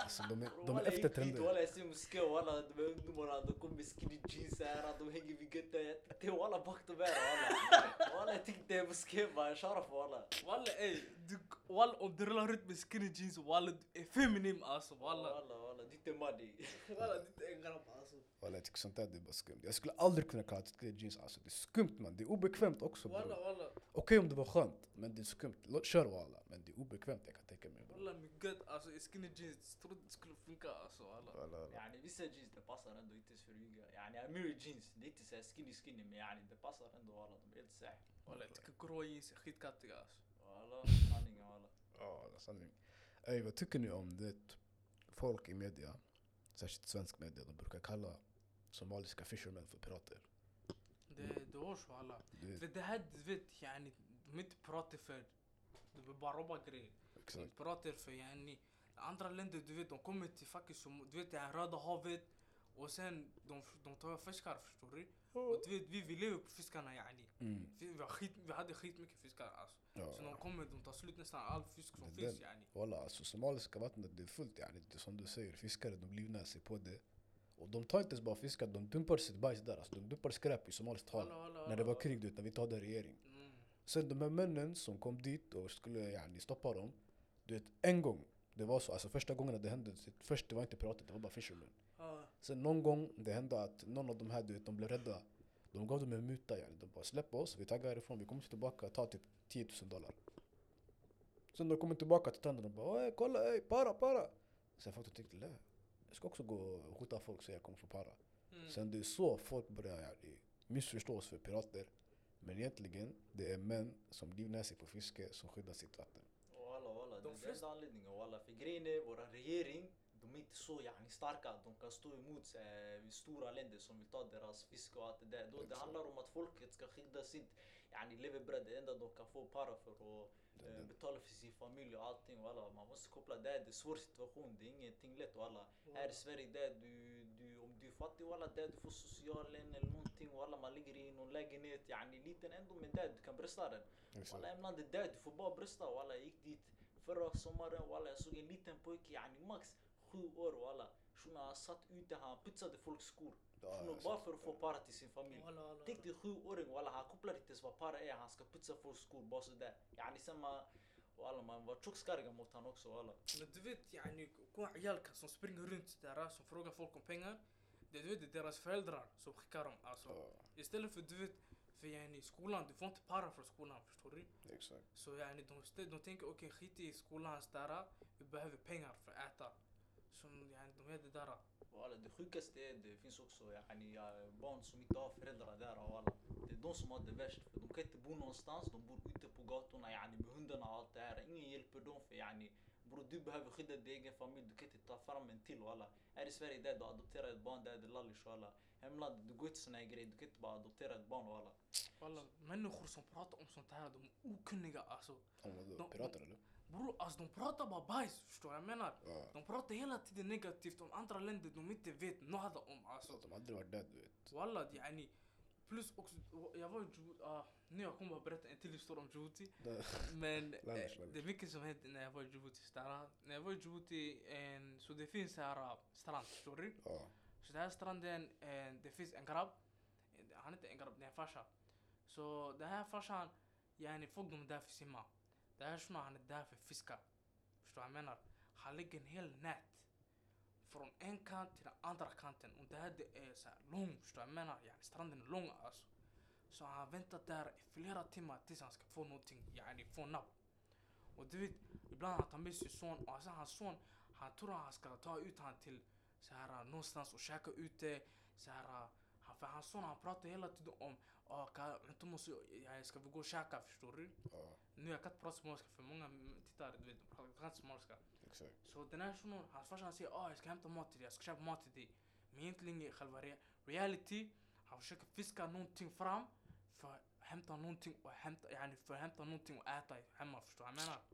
Alltså de är Walla, efter gick dit, trender. walla, jag ser moské, walla, de här ungdomarna, de kommer med skinny jeans här, de hänger vid göttet. Det är walla bakt och bära, walla. Walla, jag tyckte det är moské, bara sharaf, walla. Walla ey, walla om du rullar ut med skinny jeans, walla du är feminin alltså, walla. Walla, det är money. Walla det är en grabb alltså. Walla, jag tycker sånt där det är bara skumt. Jag skulle aldrig kunna kalla det jeans alltså. Det är skumt man, det är obekvämt också Walla bro. walla. Okej om det var skönt, men det är skumt. Kör walla, men det är obekvämt jag kan tänka mig bro. Walla min gött alltså i skinny jeans, tror det skulle funka alltså walla. Walla. يعني vissa jeans det passar ändå inte så rygga. يعني Amiri jeans, det är inte så skinny men يعني det passar ändå walla, de är helt säh. Walla jag tycker grå jeans är skitkattiga alltså. Walla, sanningen walla. Ja, sanning. Ey, vad tycker ni om det folk i media, särskilt svensk media, de brukar kalla somaliska fishermen för pirater? Det hörs walla. Du vet, För det här du vet yani, de inte pratar för, de vill bara robba grejer. De exakt. pratar för yani, andra länder du vet de kommer till fucking som, du vet det här Röda havet. Och sen de tar fiskar förstår du? Och du vet vi lever på fiskarna yani. Mm. Vi hade skit mycket fiskar alltså. Ja. Så de kommer, de tar slut nästan all fisk som Det finns där- yani. Walla, alltså somaliska vattnet det är fullt yani. Det är som du säger, fiskare de livnär sig på det. Och de tar inte ens bara fiskar, de dumpar sitt bajs där. Alltså, de dumpar skräp i somaliskt hav. När det var krig, du vet, när vi hade regering. Mm. Sen de här männen som kom dit och skulle yani, stoppa dem. Du vet, en gång, det var så, alltså första gången det hände, först det var inte pirater, det var bara fishermen. Sen någon gång det hände att någon av de här, du vet, de blev rädda. De gav dem en muta yani. De bara släpp oss, vi taggar härifrån, vi kommer tillbaka, ta typ $10,000. Sen de kommer tillbaka till tänderna och bara kolla, para. Sen folk tyckte, nej, jag ska också gå och skjuta folk så jag kommer få para. Mm. Sen det är så folk börjar yani, missförstås för pirater. Men egentligen, det är män som livnär sig på fiske som skyddar sitt vatten. Walla, De det är flesta- den anledningen walla. För grejen är, våra regering, de är inte så yani starka att de kan stå emot stora länder som vill ta deras fisk och allt det där. Då det Exakt. handlar om att folket ska skydda sitt yani levebröd, det enda de kan få para för att betala för sin familj och allting walla. Man måste koppla det, det är svår situation, det är ingenting lätt walla. Här i Sverige där om du är fattig walla, där du får socialen eller någonting walla, man ligger i någon lägenhet yani liten ändå, men där du kan brösta den. Walla ibland det där, du får bara brösta walla. Jag gick dit förra sommaren walla, jag såg en liten pojke yani max 7 år walla. Shunon satt ute, han putsade folks skor. Shunon bara för att få para till sin familj. Tänk dig 7-åring walla, han kopplar inte ens vad para är, han ska putsa folks skor bara sådär. Yani sen man var tjockskarriga mot han också walla. Men du vet yani, gå عيال som springer runt där som frågar folk om pengar. Det du vet det är deras föräldrar som skickar dem alltså. Istället för du vet, för yani skolan, du får inte para för skolan förstår du? Exakt. Så yani de tänker okej skit i skolans där, vi behöver pengar för att äta. Så yani de är det där. Walla, det sjukaste är det finns också yani, barn som inte har föräldrar där walla. Det är de som har det värst, för de kan inte bo någonstans, de bor ute på gatorna yani, med hundarna och allt det här. Ingen hjälper dem för yani, bror du behöver skydda din egen familj, du kan inte ta fram en till walla. Här i Sverige där du adopterar ett barn, där är det lallish walla. Hemlandet, du går inte såna här grejer, du kan inte bara adoptera ett barn walla. Walla, människor som pratar om sånt här, de är okunniga alltså. Om vadå, De- pirater eller? Bror, alltså de pratar bara bajs, förstår jag menar? Ja. De pratar hela tiden negativt om andra länder de inte vet något om alltså. De har aldrig varit där du vet. Walla, yani. Plus också, jag var i Djibouti, nu jag kommer bara berätta en till historia om Djibouti. Men Landish. det är mycket som hände när jag var i Djibouti. När jag var i Djibouti, så det finns här strand, förstår du? Ja. Så den här stranden, det finns en grabb. Han är inte en grabb, det är en farsa. Så den här farsan, yani folk de är där för simma. Den här shunon han är där för fiska. Förstår jag menar? Han lägger en hel nät. Från en kant till den andra kanten. Och det här det är så här lång, förstår jag menar? Yani stranden är lång alltså. Så han väntar där i flera timmar tills han ska få någonting, yani få napp. Och du vet, ibland han tar med sin son och sen hans son, han tror att han ska ta ut han till så här någonstans och käka ute. Så här, för hans son han pratar hela tiden om inte måste, ska vi gå och käka, förstår du? Ja. Nu jag kan inte prata somaliska för många tittare, du vet, de pratar inte somaliska. Exakt. Så den här shunon, hans farsa säger jag ska hämta mat till dig, jag ska köpa mat till dig. Men egentligen i själva reality, han försöker fiska någonting fram för att hämta någonting och hämta någonting och äta hemma, förstår jag menar?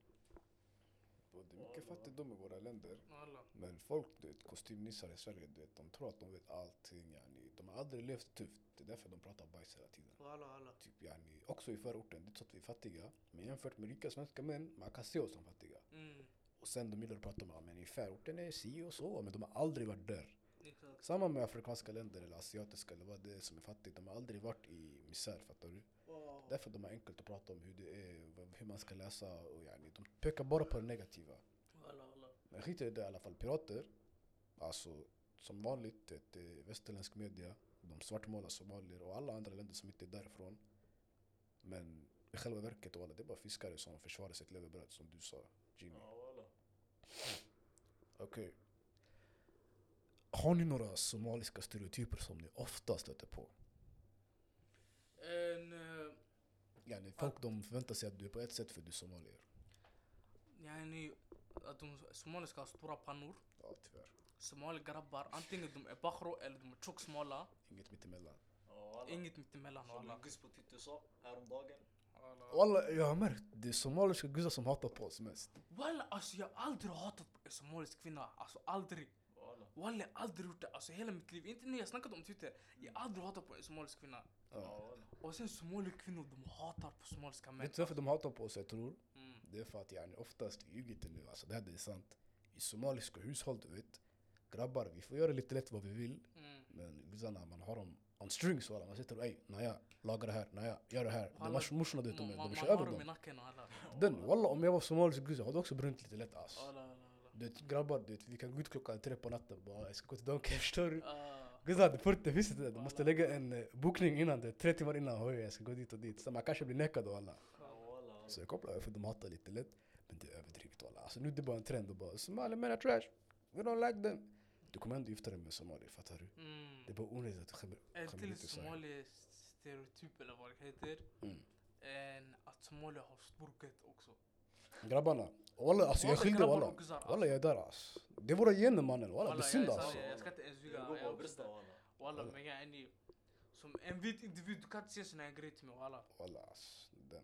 Och det är mycket fattigdom i våra länder. Alla. Men folk, du vet, kostymnissar i Sverige, du vet, de tror att de vet allting. Yani. De har aldrig levt tufft. Det är därför de pratar bajs hela tiden. Alla. Typ, yani, också i förorten, det är så att vi är fattiga. Men jämfört med rika svenska män, man kan se oss som fattiga. Mm. Och sen de gillar att prata om, men i förorten är si och så, men de har aldrig varit där. Exakt. Samma med afrikanska länder eller asiatiska eller vad det är som är fattigt. De har aldrig varit i misär, fattar du? Därför de är enkelt att prata om hur det är, hur man ska läsa och yani, de pekar bara på det negativa. Men skit i det i alla fall, pirater, alltså som vanligt, ett västerländsk media, de svartmålar somalier och alla andra länder som inte är därifrån. Men i själva verket, det är bara fiskare som försvarar sitt levebröd, som du sa, Jimmy. Okej. Har ni några somaliska stereotyper som ni ofta stöter på? Yani, folk de förväntar sig att du är på ett sätt för du är somalier. يعني att de somaliska har stora pannor. Ja, tyvärr. Somaligrabbar, antingen de är bakhro eller de är tjocksmala. Inget mittemellan. Inget mittemellan. Som en gus på Twitter sa häromdagen. Walla, jag har märkt, det är somaliska guzzar som hatar på oss mest. Walla, alltså jag har aldrig hatat en somalisk kvinna. Alltså aldrig. Walla, jag har aldrig gjort det. Alltså hela mitt liv. Inte när jag snackat om Twitter. Jag har aldrig hatat på en somalisk kvinna. Och sen somaliska kvinnor, de hatar på somaliska män. Vet du varför de hatar på oss, jag tror? Mm. Det är för att yani, oftast i Egypten nu, alltså det här är sant. I somaliska hushåll, du vet, grabbar, vi får göra lite lätt vad vi vill. Men guzzarna, man har dem on strings, walla. Man sitter och naja, laga det här, naja, gör det här. De har morsorna, du vet, de kör över dem. Den, walla, om jag var somalisk guzz, jag hade också brunnit lite lätt, alltså. Du vet, grabbar, du vet, vi kan gå ut 3 på natten, bara, jag ska gå till Donken, förstår du? Guzzar hade 40 visst det, du måste lägga en bokning innan det, 3 timmar innan, hoj, jag ska gå dit och dit. Så man kanske blir nekad och alla. Så jag kopplar för de hatar lite lätt, men det är överdrivet, walla. Alltså nu är det bara en trend och bara, Somali men är trash, we don't like them. Du kommer ändå gifta dig med Somali, fattar du? Det är bara onödigt att du skämmer till ut i Sverige. Somali stereotyp eller vad det heter. Att Somali har storket också. Grabbarna, walla, alltså jag är skyldig, walla. Walla, jag är där, alltså. Det är våra gener, mannen, walla, det är synd, alltså. Jag ska inte ens ljuga. Walla, men jag är ni som en vit individ, du kan inte se såna här grejer till mig, walla. Walla, alltså, den.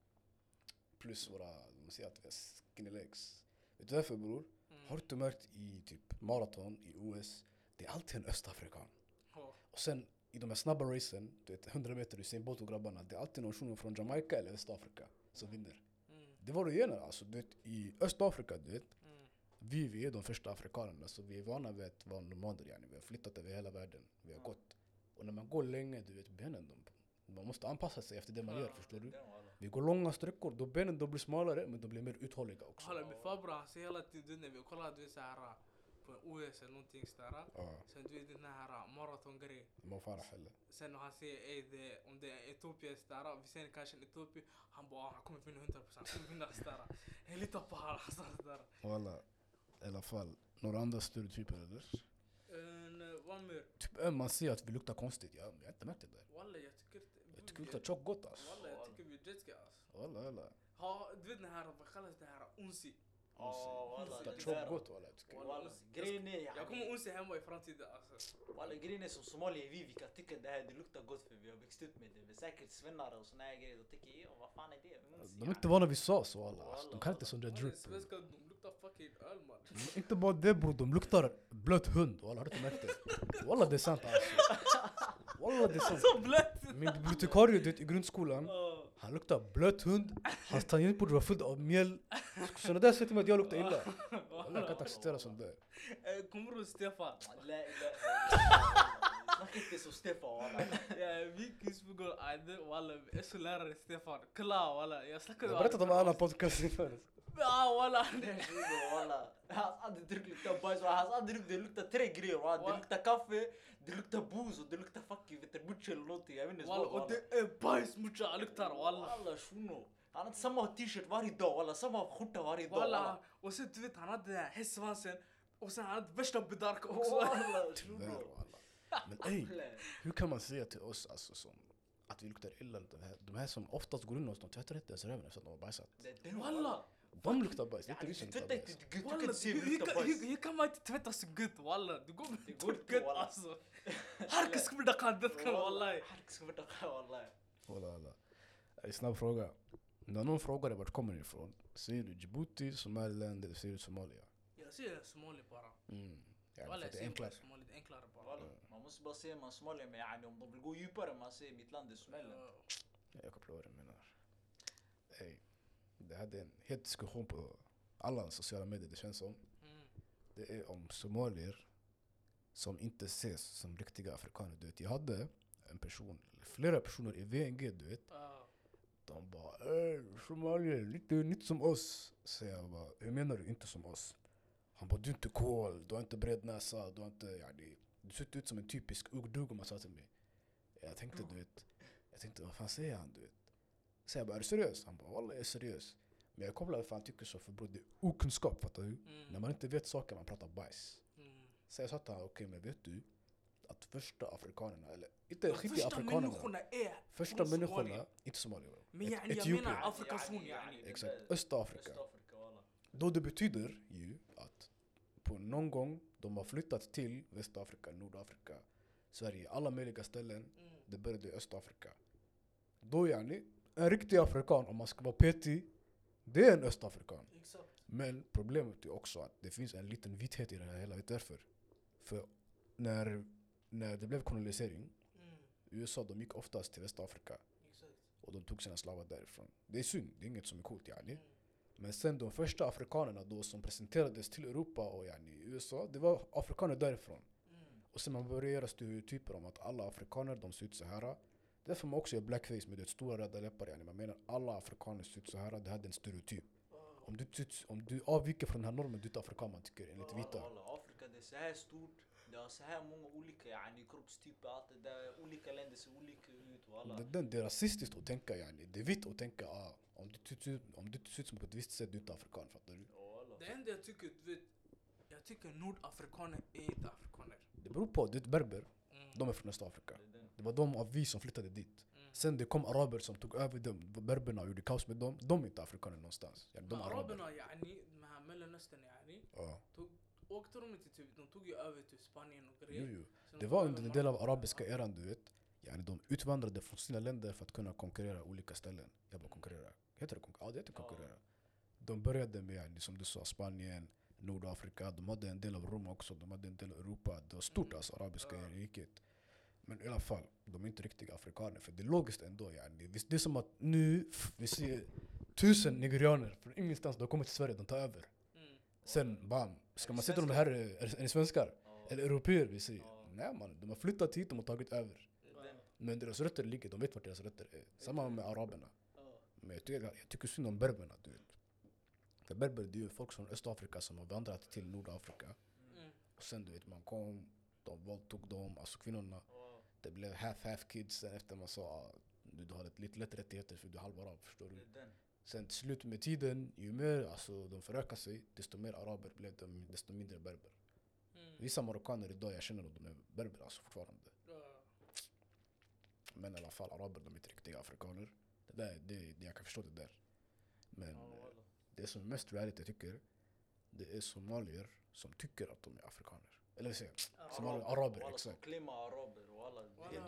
Plus våra, man säger att vi har skinny legs. Vet du varför, bror? Har du inte märkt i typ maraton, i OS, det är alltid en östafrikan. Och sen i de här snabba racen, du vet 100 meter, du ser Bolt och grabbarna, det är alltid någon shuno från Jamaica eller Östafrika som vinner. Det var det gener, alltså, du vet, i Östafrika, du vet, vi är de första afrikanerna, så vi är vana vid att vara nomader, yani. Vi har flyttat över hela världen, vi har gått. Och när man går länge, du vet, benen, man måste anpassa sig efter det man gör, förstår du? Vi går långa sträckor, då benen då blir smalare, men de blir mer uthålliga också. Hallå, min farbror, han säger hela tiden när vi kollar, du vet, så här på OS eller någonting sådär. Sen du vet den här maratongrejen. Man får heller. Sen han säger om det är Etiopien sådär, vi ser kanske en Etiopien, han bara han kommer vinna 100%, han kommer vinna sådär. Jag litar på han sådär. Walla, i alla fall, några andra stereotyper eller? Vad mer? Typ man ser att vi luktar konstigt, jag har inte märkt det där. Walla, jag tycker det luktar tjock gott, alltså. Walla, jag tycker vi är jetska, alltså. Walla. Du vet den här, vad kallas det här, unsi? Walla, det luktar tjock gott, walla. Grejen är, jag kommer unsi hemma i framtiden, alltså. Walla, grejen är som Somalia, vi kan tycka det här, det luktar gott för vi har växt upp med det. Vi är säkert svennare och såna här grejer, då tycker vad fan är det? De är inte vana vid sås, walla. De kan inte sån där drip. Svenskar, de luktar fucking öl, man. Inte bara det, bror, de luktar blöt hund, walla, har du inte märkt det? Walla, det är sant, alltså. Walla, det är sant. Så blött! Min bibliotekarie, du vet, i grundskolan, han luktar blöt hund, hans tangentbord var fullt av mjöl. Sådana där säger till mig att jag luktar illa. Walla, jag kan inte acceptera sånt där. Kommer du Stefan? Snacka inte så Stefan, walla. Ja, vi kissbogor, walla, vi är så lärare Stefan. Klar, walla, jag snackade. Jag berättade om en annan podcast inför. Ja, walla. Walla. Hans andedryck luktar bajs, hans andedryck det luktar 3 grejer, walla. Det luktar kaffe, det luktar booze och det luktar fucking veterbucci eller någonting, jag vet inte vad. Och det är bajs mucha han luktar, walla. Walla, shuno. Han hade samma t-shirt varje dag, walla, samma skjorta varje dag, walla. Och sen du vet, han hade den här hästsvansen och sen han hade värsta bedarka också. Walla, tyvärr, walla. Men ey, hur kan man säga till oss alltså som att vi luktar illa? De här som oftast går in hos, de tvättar inte ens röven efter att de har bajsat. Walla. De luktar bajs, det är inte vi som luktar bajs. Hur kan man inte tvätta så gött, walla? Det går gött, alltså. Harka skulle kan det kan, wallahi. Harka skulle det kan, wallahi. Walla. Snabb fråga. När någon frågar dig vart kommer ni ifrån, säger du Djibouti, Somaliland eller säger du Somalia? Jag säger Somalia bara. Walla, det är enklare. Somalia, det är enklare bara. Man måste bara säga man Somalia, men yani, om de vill gå djupare, man säger mitt land är Somaliland. Jag kopplar vad du menar. Ey, det hade en het diskussion på alla sociala medier, det känns som. Det är om somalier som inte ses som riktiga afrikaner. Du vet, jag hade en person, flera personer i VNG, du vet. De bara, somalier, lite nytt som oss. Så jag bara, hur menar du inte som oss? Han bara, du är inte cool, du har inte bred näsa, du har inte, yani, du ser ut som en typisk ugdug, om man sa till mig. Jag tänkte, du vet, vad fan säger han, du vet? Så jag bara, är du seriös? Han bara, wallah, jag är seriös. Men jag kopplar för han tycker så, för bror, det är okunskap, fattar du? När man inte vet saker, man pratar bajs. Så jag sa till honom, okej, men vet du att första afrikanerna, eller inte riktiga afrikanerna, första människorna, inte somalier, men jag menar Afrikas horn, exakt, Östafrika. Då det betyder ju att på någon gång de har flyttat till Västafrika, Nordafrika, Sverige, alla möjliga ställen, det började i Östafrika. Då yani, en riktig afrikan, om man ska vara petig, det är en östafrikan. Exakt. Men problemet är också att det finns en liten vithet i det här hela. Vet därför. För när det blev kolonisering, USA, de gick oftast till Västafrika. Exakt. Och de tog sina slavar därifrån. Det är synd, det är inget som är coolt yani. Men sen de första afrikanerna då som presenterades till Europa och yani USA, det var afrikaner därifrån. Och sen man började göra stereotyper om att alla afrikaner, de ser ut så här. Därför man också gör blackface med det stora röda läppar. Yani. Man menar alla afrikaner ser ut så här, det här är en stereotyp. Om du avviker från den här normen, du är inte afrikan, man tycker, enligt vita. Afrika, det är så här stort. Det har så här många olika yani, kroppstyper, allt det där. Olika länder ser olika ut. Det är rasistiskt att tänka, yani. Det är vitt att tänka, om du ser ut som på ett visst sätt, du är inte afrikan, fattar du? Det enda jag tycker, jag tycker nordafrikaner är inte afrikaner. Det beror på, du är berber, de är från Östafrika. Det var de av vi som flyttade dit. Sen det kom araber som tog över dem, berberna och gjorde kaos med dem. De är inte afrikaner någonstans. Yani, de araberna, yani, de här Mellanöstern, yani, åkte de inte till, de tog ju över till Spanien och grejer. Jo. Det var under en del av arabiska eran, du vet. Yani, de utvandrade från sina länder för att kunna konkurrera olika ställen. Jag bara konkurrera. Heter det konkurrera? Ja, det heter konkurrera. De började med, yani, som du sa, Spanien, Nordafrika. De hade en del av Rom också. De hade en del av Europa. Det var stort, alltså, arabiska riket. Men i alla fall, de är inte riktiga afrikaner. För det är logiskt ändå. Yani. Det är som att nu vi ser 1000 nigerianer från ingenstans. De kommer till Sverige, de tar över. Sen, bam. Ska man sätta dem här, är ni svenskar? Eller europeer, vi säger. Nej man, de har flyttat hit, de har tagit över. Men deras rötter ligger, de vet vart deras rötter är. Samma med araberna. Men jag tycker synd om berberna, du vet. För berber, det är ju folk från Östafrika som har vandrat till Nordafrika. Och sen, du vet, man kom, de våldtog dem, alltså kvinnorna. Det blev half kids. Sen efter man sa, du har lite lätt rättigheter för du är halvarab, förstår du? Sen till slut med tiden, ju mer alltså, de förökar sig, desto mer araber blev de, desto mindre berber. Vissa marockaner idag, jag känner att de är berber alltså, fortfarande. Men i alla fall, araber, de är inte riktiga afrikaner. Det jag kan förstå det där. Men det som är mest reality, jag tycker, det är somalier som tycker att de är afrikaner. Eller säga, somalier, araber, exakt. Klimma araber och alla.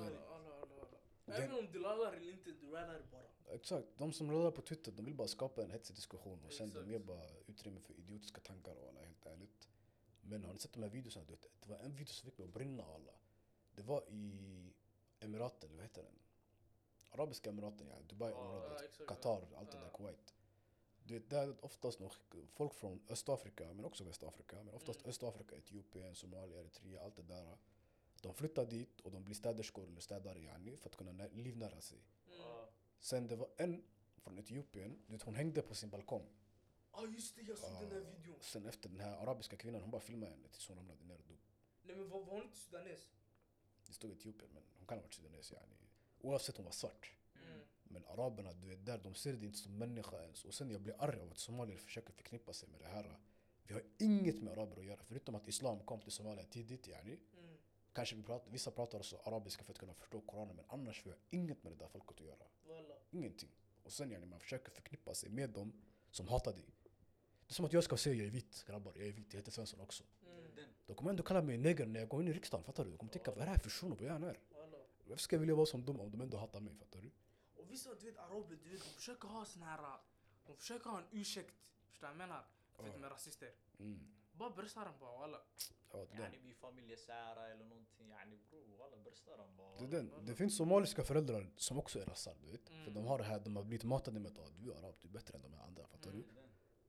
Även om du lallar eller inte, du lallar bara. Exakt, de som lallar på Twitter, de vill bara skapa en hetsig diskussion. Och sen de ger bara utrymme för idiotiska tankar och alla, helt ärligt. Men har ni sett de här videorna? Det var en video som fick mig att brinna alla. Det var i Emiraten, vad heter den? Arabiska Emiraten, ja, Dubai-området, Qatar, allt det där, Kuwait. Du vet, där är oftast nog folk från Östafrika, men också Västafrika. Men oftast Östafrika, Etiopien, Somalia, Eritrea, allt det där. De flyttar dit och de blir städerskor eller städare, yani, för att kunna livnära sig. Sen det var en från Etiopien, du vet, hon hängde på sin balkong. Just det, jag såg den där videon. Sen efter den här arabiska kvinnan, hon bara filmade henne tills hon ramlade ner och dog. Nej men var hon inte sudanes? Det stod Etiopien, men hon kan ha varit sudanes, yani. Oavsett hon var svart. Men araberna, du vet, där, de ser det inte som människa ens. Och sen jag blir arg av att somalier försöker förknippa sig med det här. Vi har inget med araber att göra, förutom att islam kom till Somalia tidigt, yani. Kanske vissa pratar också arabiska för att kunna förstå Koranen, men annars vi har inget med det där folket att göra. Ingenting. Och sen, yani, man försöker förknippa sig med dem som hatar dig. Det är som att jag ska säga jag är vit, grabbar, jag är vit, jag heter Svensson också. Då kommer ändå kalla mig neger när jag går in i riksdagen, fattar du? De kommer tänka, vad är det här för shuno, vad är han här? Varför ska jag vilja vara som dem om de ändå hatar mig, fattar du? Och vissa, du vet, araber, du vet, de försöker ha sån här, de försöker ha en ursäkt, förstår jag menar? För att de är rasister. Bara bröstar dem bara, walla. Yani vi familjesära eller någonting, yani bro, alla bröstar dem bara. Det finns somaliska föräldrar som också är rassar, du vet. För de har det här, de har blivit matade med att du är arab, du är bättre än de här andra, fattar du?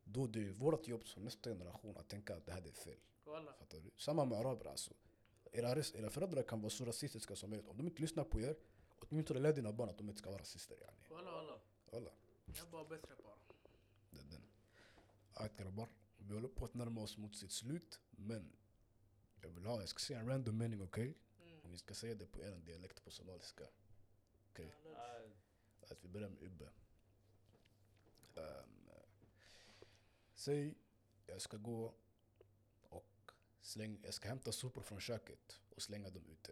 Då det är vårt jobb som nästa generation att tänka att det här är fel. Walla. Fattar du? Samma med araber alltså. Era föräldrar kan vara så rasistiska som möjligt. Om de inte lyssnar på er, åtminstone lär dina barn att de inte ska vara rasister yani. Walla. Walla. Jag är bara bättre bara. Det är den. Alright grabbar, vi håller på att närma oss mot sitt slut. Men jag ska säga en random mening, okej? Och ni ska säga det på er dialekt på somaliska. Okej? Att vi börjar med Ubbe. Säg, jag ska gå och jag ska hämta sopor från köket och slänga dem ute.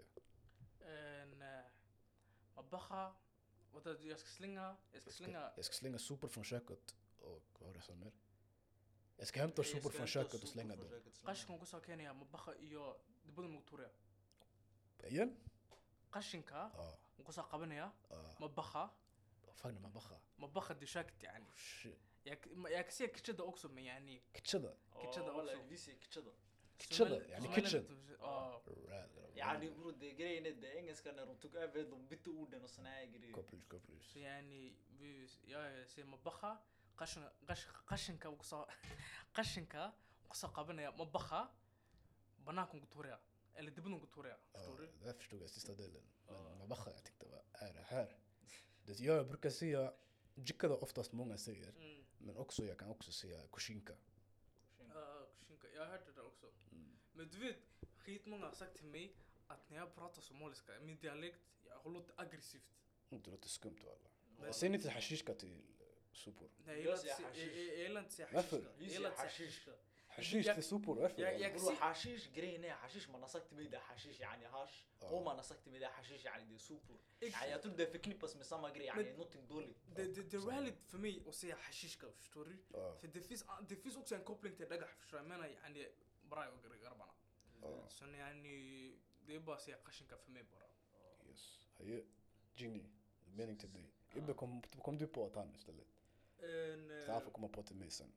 Mabaha. Jag ska slänga. Jag ska slänga sopor från köket och vad var det som mer? Jag ska hämta sopor från köket och slänga dem. Qashinka ku sakeenaya mabaha iyo dibada mugtuuraya. Igen? Qashinka Ja. ku soo qabanaya mabaha. Fan ما بخا. mabaha dishakt yani. Shit. يا كسي كتشدا اوكسو يعني كتشدا. كتشدا ولا أوكسو. فيسي كتشدا كتشدا يعني كيتشن. يعني برود grejen det engelska när de tog över de bytte orden och såna här grejer. Kopplis. يعني يا سي مبخه قشنكا وقصا قشنكا وقصا قبنا مبخه بناكم قطوريا اللي دبنوا قطوريا förstår Det förstod jag sista delen. Men man bara jag tänkte vad är det här? Det jag brukar säga jickade oftast många säger. Men också jag kan också säga kushinka. Kushinka. Jag har hört det där också. Men du vet, skitmånga har sagt till mig att när jag pratar somaliska, min dialekt, jag låter aggressivt. Det låter skumt alla. Säg inte hashishka till sopor. Nej, jag gillar inte säga Varför? hashish. Hashish till sopor, varför? برو حشيش grejen är حشيش man har sagt till mig det حشيش يعني hash och man har sagt till mig det حشيش يعني det sopor. يعني jag tror det förknippas med samma grej يعني någonting dåligt. Det är rallyt för mig att säga hashishka, förstår du? För det finns också en koppling till dagah, förstår jag menar يعني bra och grabbarna. Så يعني det är bara att säga kashinka för mig bara. Yes. Hej, Genie. Mening till dig. Ibbe kom du på att han istället. Så han får komma på till mig sen.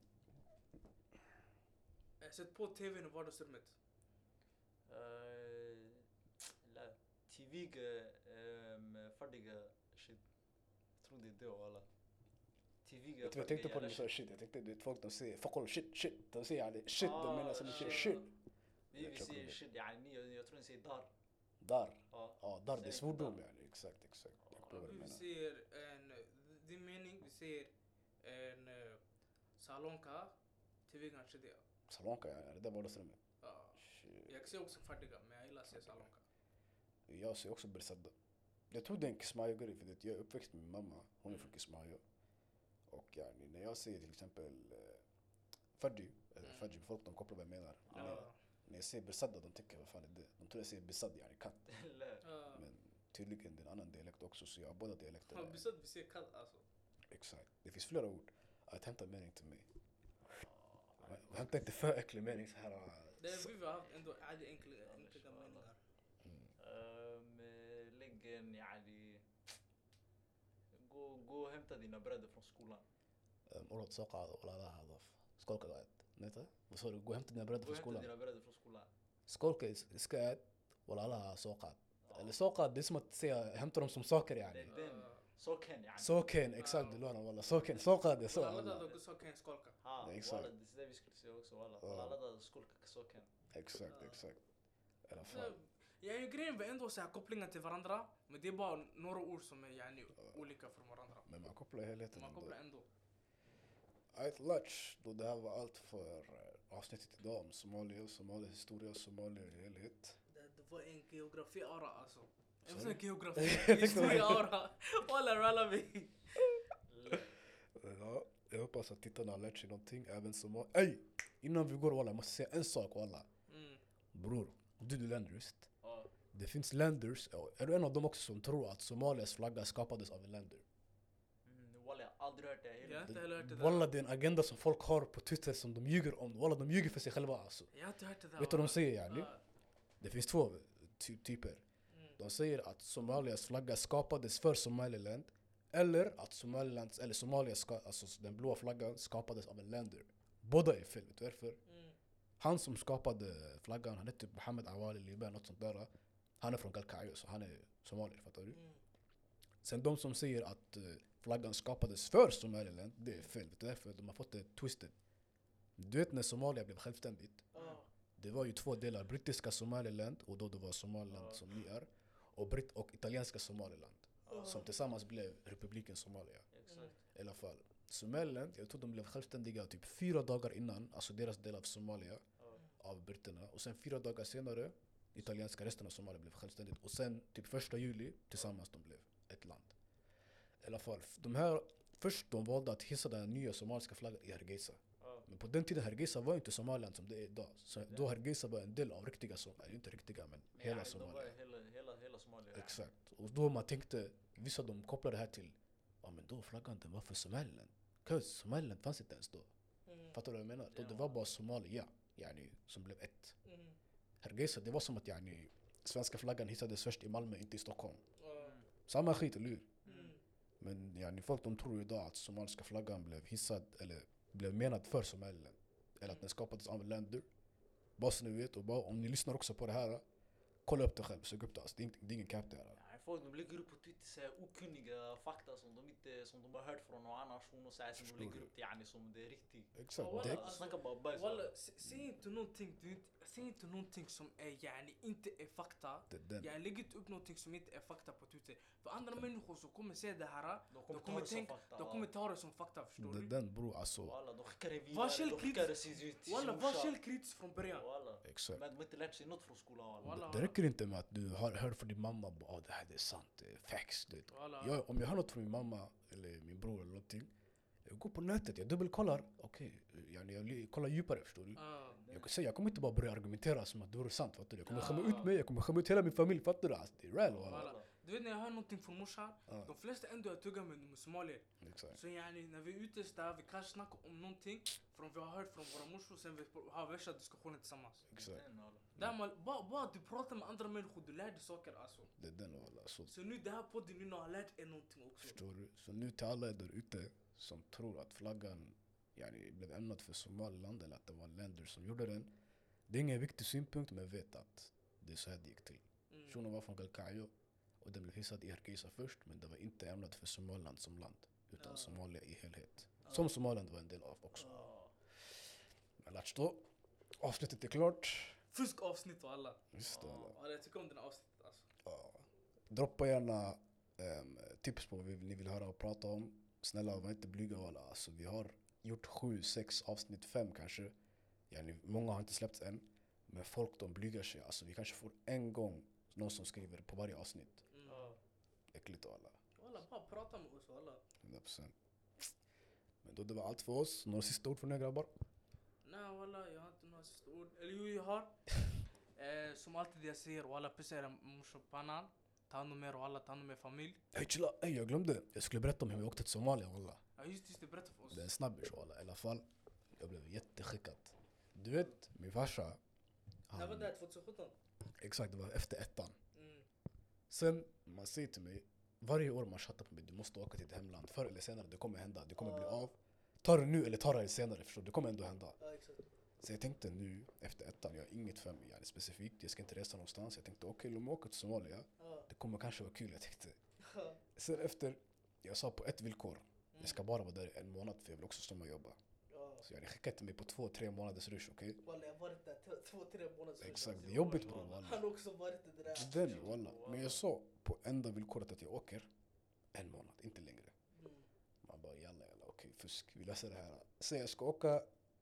Jag sett på tvn i vardagsrummet. لا تيفيك فردق shit tror det då alla تيفيك Jag tänkte på det så shit. Jag tänkte det folk de säger fuck shit. De säger يعني shit de menar som shit. Vi säger shit يعني jag tror ni säger dar. Dar det är svordom yani. Exakt. Vi ser din mening, vi ser en salonka tv kanske det. Salonka yani, det där vardagsrummet. Jag ser också färdiga, men jag gillar att se salonka. Jag ser också Bersadda. Jag tror det är en Kismayo-grej för det jag är uppväxt med min mamma. Hon är från Kismayo. Och yani, när jag säger till exempel Fadji, folk de kopplar vad jag menar. När jag säger Bersadda, de tycker vad fan är det? De tror jag säger Besad, yani katt. Men tydligen det är en annan dialekt också, så jag har båda dialekterna. Besad, vi ser katt alltså. Exakt. Det finns flera ord. Att hämta mening till mig. Hämta inte för äcklig mening så här. Det är vi har haft ändå enkla meningar. lägg en يعني gå och hämta dina bröder från skolan. Ordet såka ولا هذا سكولك قاعد نتا بس هو gå hämta dina bröder från skolan. Dina bröder från skolan. Skolka ska ولا لا såka. Eller såka det är som att säga hämta dem som saker yani. Soken يعني. Soken exakt det låter والله soken såka det så. Alla då soken skolka. Exakt. Walla det vi skulle säga också walla. Alla då skolka soken. Exakt. I alla fall. Jag är grejen vi ändå så här kopplingar till varandra, men det är bara några ord som är yani olika från varandra. Men man kopplar helheten. Man kopplar ändå. Alright, Latch. Då det här var allt för avsnittet idag om Somalia, Somalia historia, Somalia i helhet. Det var en geografi-ara alltså. En sån geografi-historia-ara. Walla ralla vi. Ja, jag hoppas att tittarna har lärt sig någonting. Även Somalia. Ey! Innan vi går walla, jag måste säga en sak walla. Bror, du är länderist. Det finns länders, är du en av dem också som tror att Somalias flagga skapades av en länder? Walla, jag har aldrig hört det. Jag har inte heller hört det där. Walla, det är en agenda som folk har på Twitter som de ljuger om. Walla, de ljuger för sig själva alltså. Jag har inte hört det där. Vet du vad de säger yani? Det finns två typer. De säger att Somalias flagga skapades för Somaliland. Eller att Somalilands, eller Somalias, alltså den blåa flaggan skapades av en länder. Båda är fel, vet du varför? Han som skapade flaggan, han heter Mohammed Awali Liban, något sånt där. Han är från Galkayo, så han är somalier, fattar du? Sen de som säger att flaggan skapades för Somaliland, det är fel, vet du varför? De har fått det twisted. Du vet när Somalia blev självständigt. Ja. Det var ju 2 delar. Brittiska Somaliland, och då det var Somaliland som ni är. Och italienska Somaliland. Som tillsammans blev republiken Somalia. Exakt. I alla fall. Somaliland, jag tror de blev självständiga typ 4 dagar innan. Alltså deras del av Somalia. Av britterna. Och sen 4 dagar senare, italienska resten av Somalia blev självständigt. Och sen typ 1 juli tillsammans de blev ett land. I alla fall, först de valde att hissa den nya somaliska flaggan i Hargeisa. Men på den tiden Hargeisa var inte Somaliland som det är idag. Så då Hargeisa var en del av riktiga Somalia, inte riktiga men hela Somalia. Hela Somalia. Exakt. Och då man tänkte, vissa de kopplade det här till, ja men då flaggan den var för Somaliland. Somaliland fanns inte ens då. Fattar du vad jag menar? Då det var bara Somalia, yani, som blev ett. Hargeisa, det var som att yani, svenska flaggan hissades först i Malmö, inte i Stockholm. Samma skit, eller hur? Men yani, folk de tror ju idag att somaliska flaggan blev hissad, eller blev menad för Somaliland. Eller att den skapades av länder. Bara så ni vet, och bara, om ni lyssnar också på det här, kolla upp det själv, sök upp det. Alltså, det är ingen cap det här. Folk de lägger upp på Twitter så här okunniga fakta som de har hört från någon annan nation och så här, som de lägger upp det yani, som det är riktigt. Exakt. Ja, Det, alltså, Snacka bara bajs. säg inte någonting som är yani inte är fakta. den. Jag lägger inte upp någonting som inte är fakta på Twitter. För andra människor som kommer se det här, de kommer ta det som fakta, förstår du? Den bror, alltså. Walla, de skickar det Var vidare, de skickar det till sin Walla, var morsa. källkritisk från början. Walla. Exakt. Men de har inte lärt sig något från skolan. Walla. Det räcker inte med att du har hört från din mamma, det här det är sant, det är facts. Om jag hör något från min mamma eller min bror eller någonting, jag går på nätet, jag dubbelkollar. Okej, jag kollar djupare, förstår du? Jag kommer inte bara börja argumentera som att det vore sant, fattar du? Jag kommer skämma ut mig, jag kommer skämma ut hela min familj, fattar du? Alltså, det är real, walla. Du vet när jag hör någonting från morsan, de flesta ändå jag tuggar med somalier. Exakt. Så yani, när vi är ute där, vi kanske snackar om någonting från vi har hört från våra morsor, sen vi har värsta diskussioner tillsammans. Exakt. Där man, bara du pratar med andra människor, du lär dig saker alltså. Det är den, walla. Så nu det här podden nu har lärt er någonting också. Förstår du? Så nu till alla där ute som tror att flaggan yani, blev ämnad för Somaliland eller att det var länder som gjorde den. Det är ingen viktig synpunkt, men vet att det är så här det gick till. Shunon var från Galkayo och den blev hissad i Hargeisa först, men det var inte ämnat för Somaliland som land, utan Somalia i helhet. Som Somaliland var en del av också. Men låt stå. Avsnittet är klart. Fusk avsnitt och alla. Just det, alla. Ja, jag tycker om den här avsnittet alltså. Droppa gärna tips på vad ni vill höra och prata om. Snälla, var inte blyga alla. Alltså, vi har gjort 7, 6 avsnitt, 5 kanske. Yani, många har inte släppts än. Men folk de blygar sig. Alltså, vi kanske får en gång någon som skriver på varje avsnitt. Äckligt och alla. Alla bara prata med oss alla. 100%. Men då det var allt för oss. Några sista ord från er grabbar? Nej walla, jag har inte några sista ord. Eller jo, jag har. Som alltid jag säger, walla, pissa era morsor på pannan. Ta hand om er och alla, ta hand om er familj. Hej chilla, jag glömde. Jag skulle berätta om hur vi åkte till Somalia, walla. Ja just det, berätta för oss. Det är en snabbis, walla. I alla fall, jag blev jätteskickad. Du vet, min farsa. Det var där 2017. Exakt, det var efter 1:an. Sen, man säger till mig, varje år man chattar på mig, du måste åka till ditt hemland. Förr eller senare, det kommer hända. Det kommer bli av. Ta det nu eller ta det senare, förstår du? Det kommer ändå hända. Ja, exakt. Så jag tänkte nu, efter 1:an, jag har inget för mig specifikt. Jag ska inte resa någonstans. Jag tänkte, okej, låt mig åka till Somalia. Det kommer kanske vara kul, jag tänkte. Sen efter, jag sa på ett villkor. Jag ska bara vara där 1 månad, för jag vill också stanna och jobba. Så jag skickade mig på 2-3 månaders rush, okej? Walla, jag har varit där 2-3 månader. Exakt, det är jobbigt bror, walla. Han har också varit det där. Den, walla. Men jag sa på enda villkoret att jag åker 1 månad, inte längre. Man bara, jalla, okej, fusk, vi läser det här. Så jag ska åka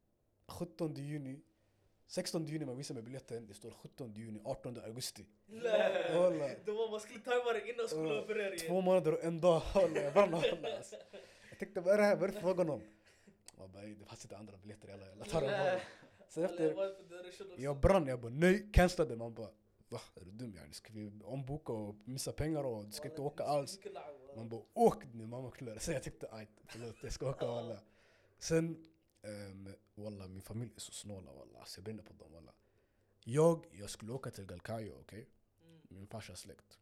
17 juni, 16 juni man visar mig biljetten, det står 17 juni, 18 augusti. Walla. Det var man skulle tajma det innan skolan börjar igen. 2 månader och 1 dag, walla, jag brann, walla. Alltså. Jag tänkte, vad är det här, vad är det frågan om? Man bara, det fanns inte andra biljetter, jalla, tar dem bara. Sen efter, jag brann, jag bara, nej, cancellade. Man bara, va, är du dum? Yani? Ska vi omboka och missa pengar och du ska inte åka alls? Man bara, åk nu, mamma klär. Så jag tyckte, aj, förlåt, jag ska åka, walla. Sen, walla, min familj är så snåla, walla. Så jag brinner på dem, walla. Jag skulle åka till Galkayo, okej? Min farsas släkt.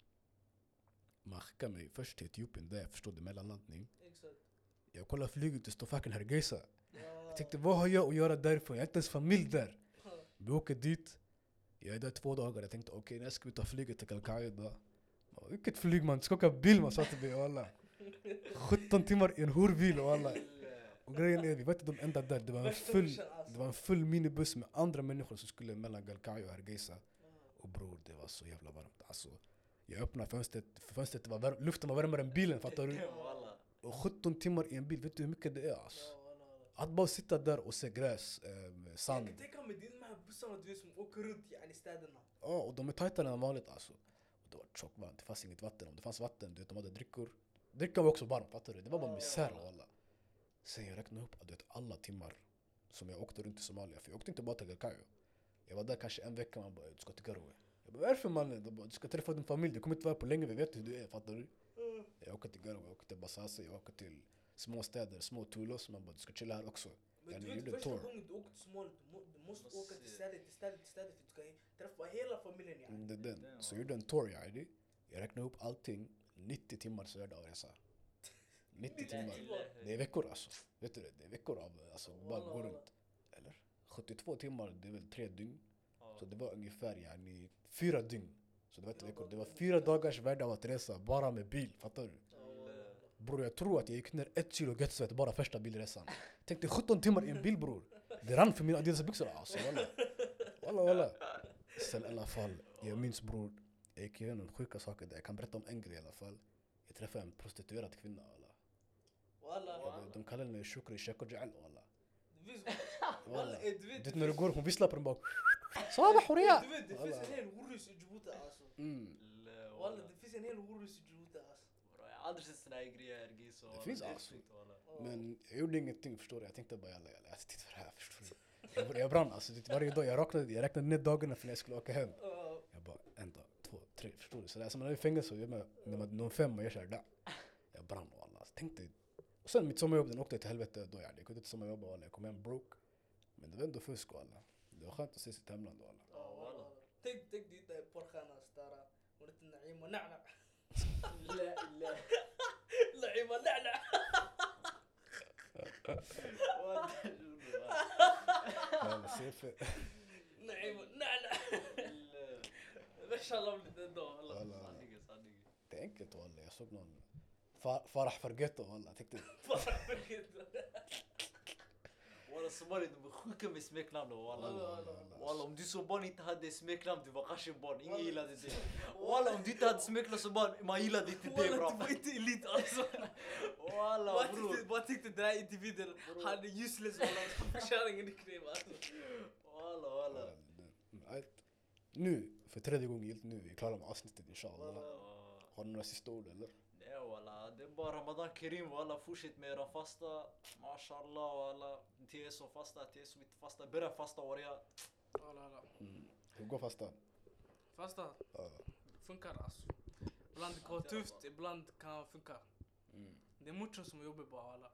Man skickar mig först till Etiopien, där jag förstod det, mellanlandning. Jag kollar flyget, det står fucking Hargeisa. Jag tänkte, vad har jag att göra därifrån? Jag har inte ens familj där. Vi åker dit. Jag är där 2 dagar. Jag tänkte, okej, när ska vi ta flyget till Galkayo då? Vilket flyg man? Du ska åka bil, man sa till mig, walla. 17 timmar i en horbil, walla. Och grejen är, vi var inte de enda där. Det var Det var en full minibuss med andra människor som skulle mellan Galkayo och Hargeisa. Och bror, det var så jävla varmt. Alltså, jag öppnade fönstret var varm, luften var varmare än bilen, fattar du? Och 17 timmar i en bil, vet du hur mycket det är alltså? Att bara sitta där och se gräs, sand. Jag kan tänka mig de här bussarna du vet som åker runt i städerna. Ja, och de är tajtare än vanligt alltså. Och det var tjockvarmt, det fanns inget vatten. Om det fanns vatten, du vet, de hade drickor. Drickan var också varm, fattar du? Det var bara misär och alla. Sen jag räknade upp att du vet, alla timmar som jag åkte runt i Somalia. För jag åkte inte bara till Galkayo. Jag var där kanske en vecka, man bara, du ska till Garowe. Jag bara, varför mannen? De bara, du ska träffa din familj, du kommer inte vara på länge, vi vet hur du är, fattar du? Jag åker till Garowe, jag åker till Basase, jag åker till små städer, små Tulos. Man bara, du ska chilla här också. Men du vet, första gången du åker till Somalia, du måste åka till städer för att du ska träffa hela familjen. Ja. Det är den. Så jag gjorde en tour, jag räknade upp allting, 90 timmar så är det av resa. 90 timmar. Det är veckor alltså. Vet du det? Det är veckor av alltså, bara gå runt. Eller? 72 timmar, det är väl 3 dygn. Så det var ungefär 4 dygn. Så det var inte veckor. Det var 4 dagars värde av att resa bara med bil, fattar du? Bror, jag tror att jag gick ner 1 kilo göttsvett bara första bilresan. Tänk dig 17 timmar i en bil, bror. Det rann för mina Adidas-byxor alltså, walla. Sen i alla fall, jag minns bror, jag gick igenom sjuka saker där. Jag kan berätta om en grej i alla fall. Jag träffade en prostituerad kvinna, walla. De kallar henne Shukri Sheko Ja'al, walla. Du vet när du går, hon visslar på den bara. Sabah Horia! Du vet, det finns en hel horus i Djibouti alltså. Walla, det finns en hel horus i Djibouti alltså. Jag har aldrig sett såna här grejer, Giso. Det finns alltså. Men jag gjorde ingenting, förstår du? Jag tänkte bara, jag tittar för det här, förstår du? Jag brann alltså, varje dag, jag räknade ner dagarna för när jag skulle åka hem. Jag bara, 1 dag, 2, 3, förstår du? Så det är som när jag är i fängelse och jag med någon 5 och jag kör där. Jag brann och alla, tänkte. Och sen mitt sommarjobb, den åkte till helvete då, jag kunde inte sommarjobba, alla. Jag kom hem broke. Men det var ändå fusk och alla. Det var skönt att se sitt hemland och alla. Tänk dig där porrstjärnan Stara. Hon heter Naima Na'na. Naima Na'na. Naima Na'na. Mashallah blir det då. Det är enkelt walla, jag såg någon Farah Fargetto walla, tänkte Farah Fargetto. Walla, Somali, de är sjuka med smeknamn då, walla. Om du som barn inte hade smeknamn, du var kanske barn, ingen gillade det. Walla, om du inte hade smeknamn som barn, man gillade inte det, bra. Walla, du var inte elit alltså. Walla, bror. Bara tyckte den här individen, han är useless walla, kärringen i kniv alltså. Walla. Nu, för 3:e gången gilt nu, vi är klara med avsnittet inshallah. Har du några sista ord eller? Nej walla, det är bara Ramadan Karim walla, fortsätt med era fasta. Mashallah walla, till er som fasta, till er som inte fasta, börja fasta varje. Hur går fasta? Fasta? Funkar alltså. Ibland kan vara tufft, ibland kan funka. Det är mucho som jobbar bara alla.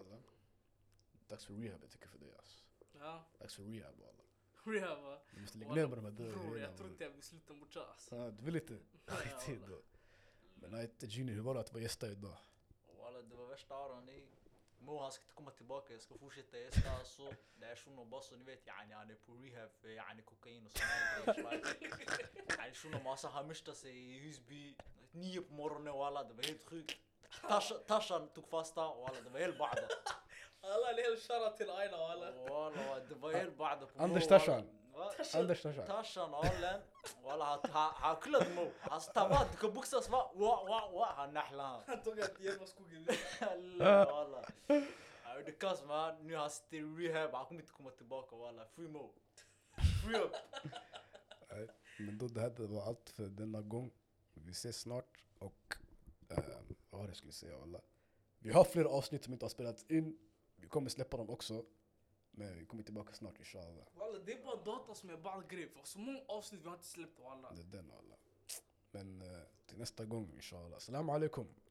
Dags för rehab, jag tycker för det alltså. Ja. Dags för rehab alla. Rehab va? Du måste lägga ner med de här dörren. Bror, jag tror inte jag vill sluta mucho alltså. Du vill inte? Skit då. Men nej, Gini, hur var det att vara gästa idag? Walla, det var värsta aran i. Mo, han ska inte komma tillbaka, jag ska fortsätta gästa alltså. Det är shuno boss och ni vet, han är på rehab för kokain och sådana grejer. Shuno massa han mörstade sig i Husby 9 på morgonen och alla, det var helt sjukt. Tashan tog fasta och alla, det var helt bada. Alla är helt kära till Aina och alla. Walla, det var helt bada på Anders Tashan. Anders Tashan. Tashan Allen. Walla, han kullade Mo. Han stavade, du kan boxas va? Han nahla. Han tog att hjälpa skogen. Walla. Det kaos man, nu han sitter i rehab, han kommer inte komma tillbaka walla. Free Mo. Free up. Men då det här var allt för denna gång. Vi ses snart och vad var det jag skulle säga walla. Vi har fler avsnitt som inte har spelats in. Vi kommer släppa dem också. Men vi kommer tillbaka snart inshallah. Walla, det är bara data som är bara grej. För så många avsnitt vi har inte släppt walla. Det är den walla. Men till nästa gång inshallah. Assalamu alaikum.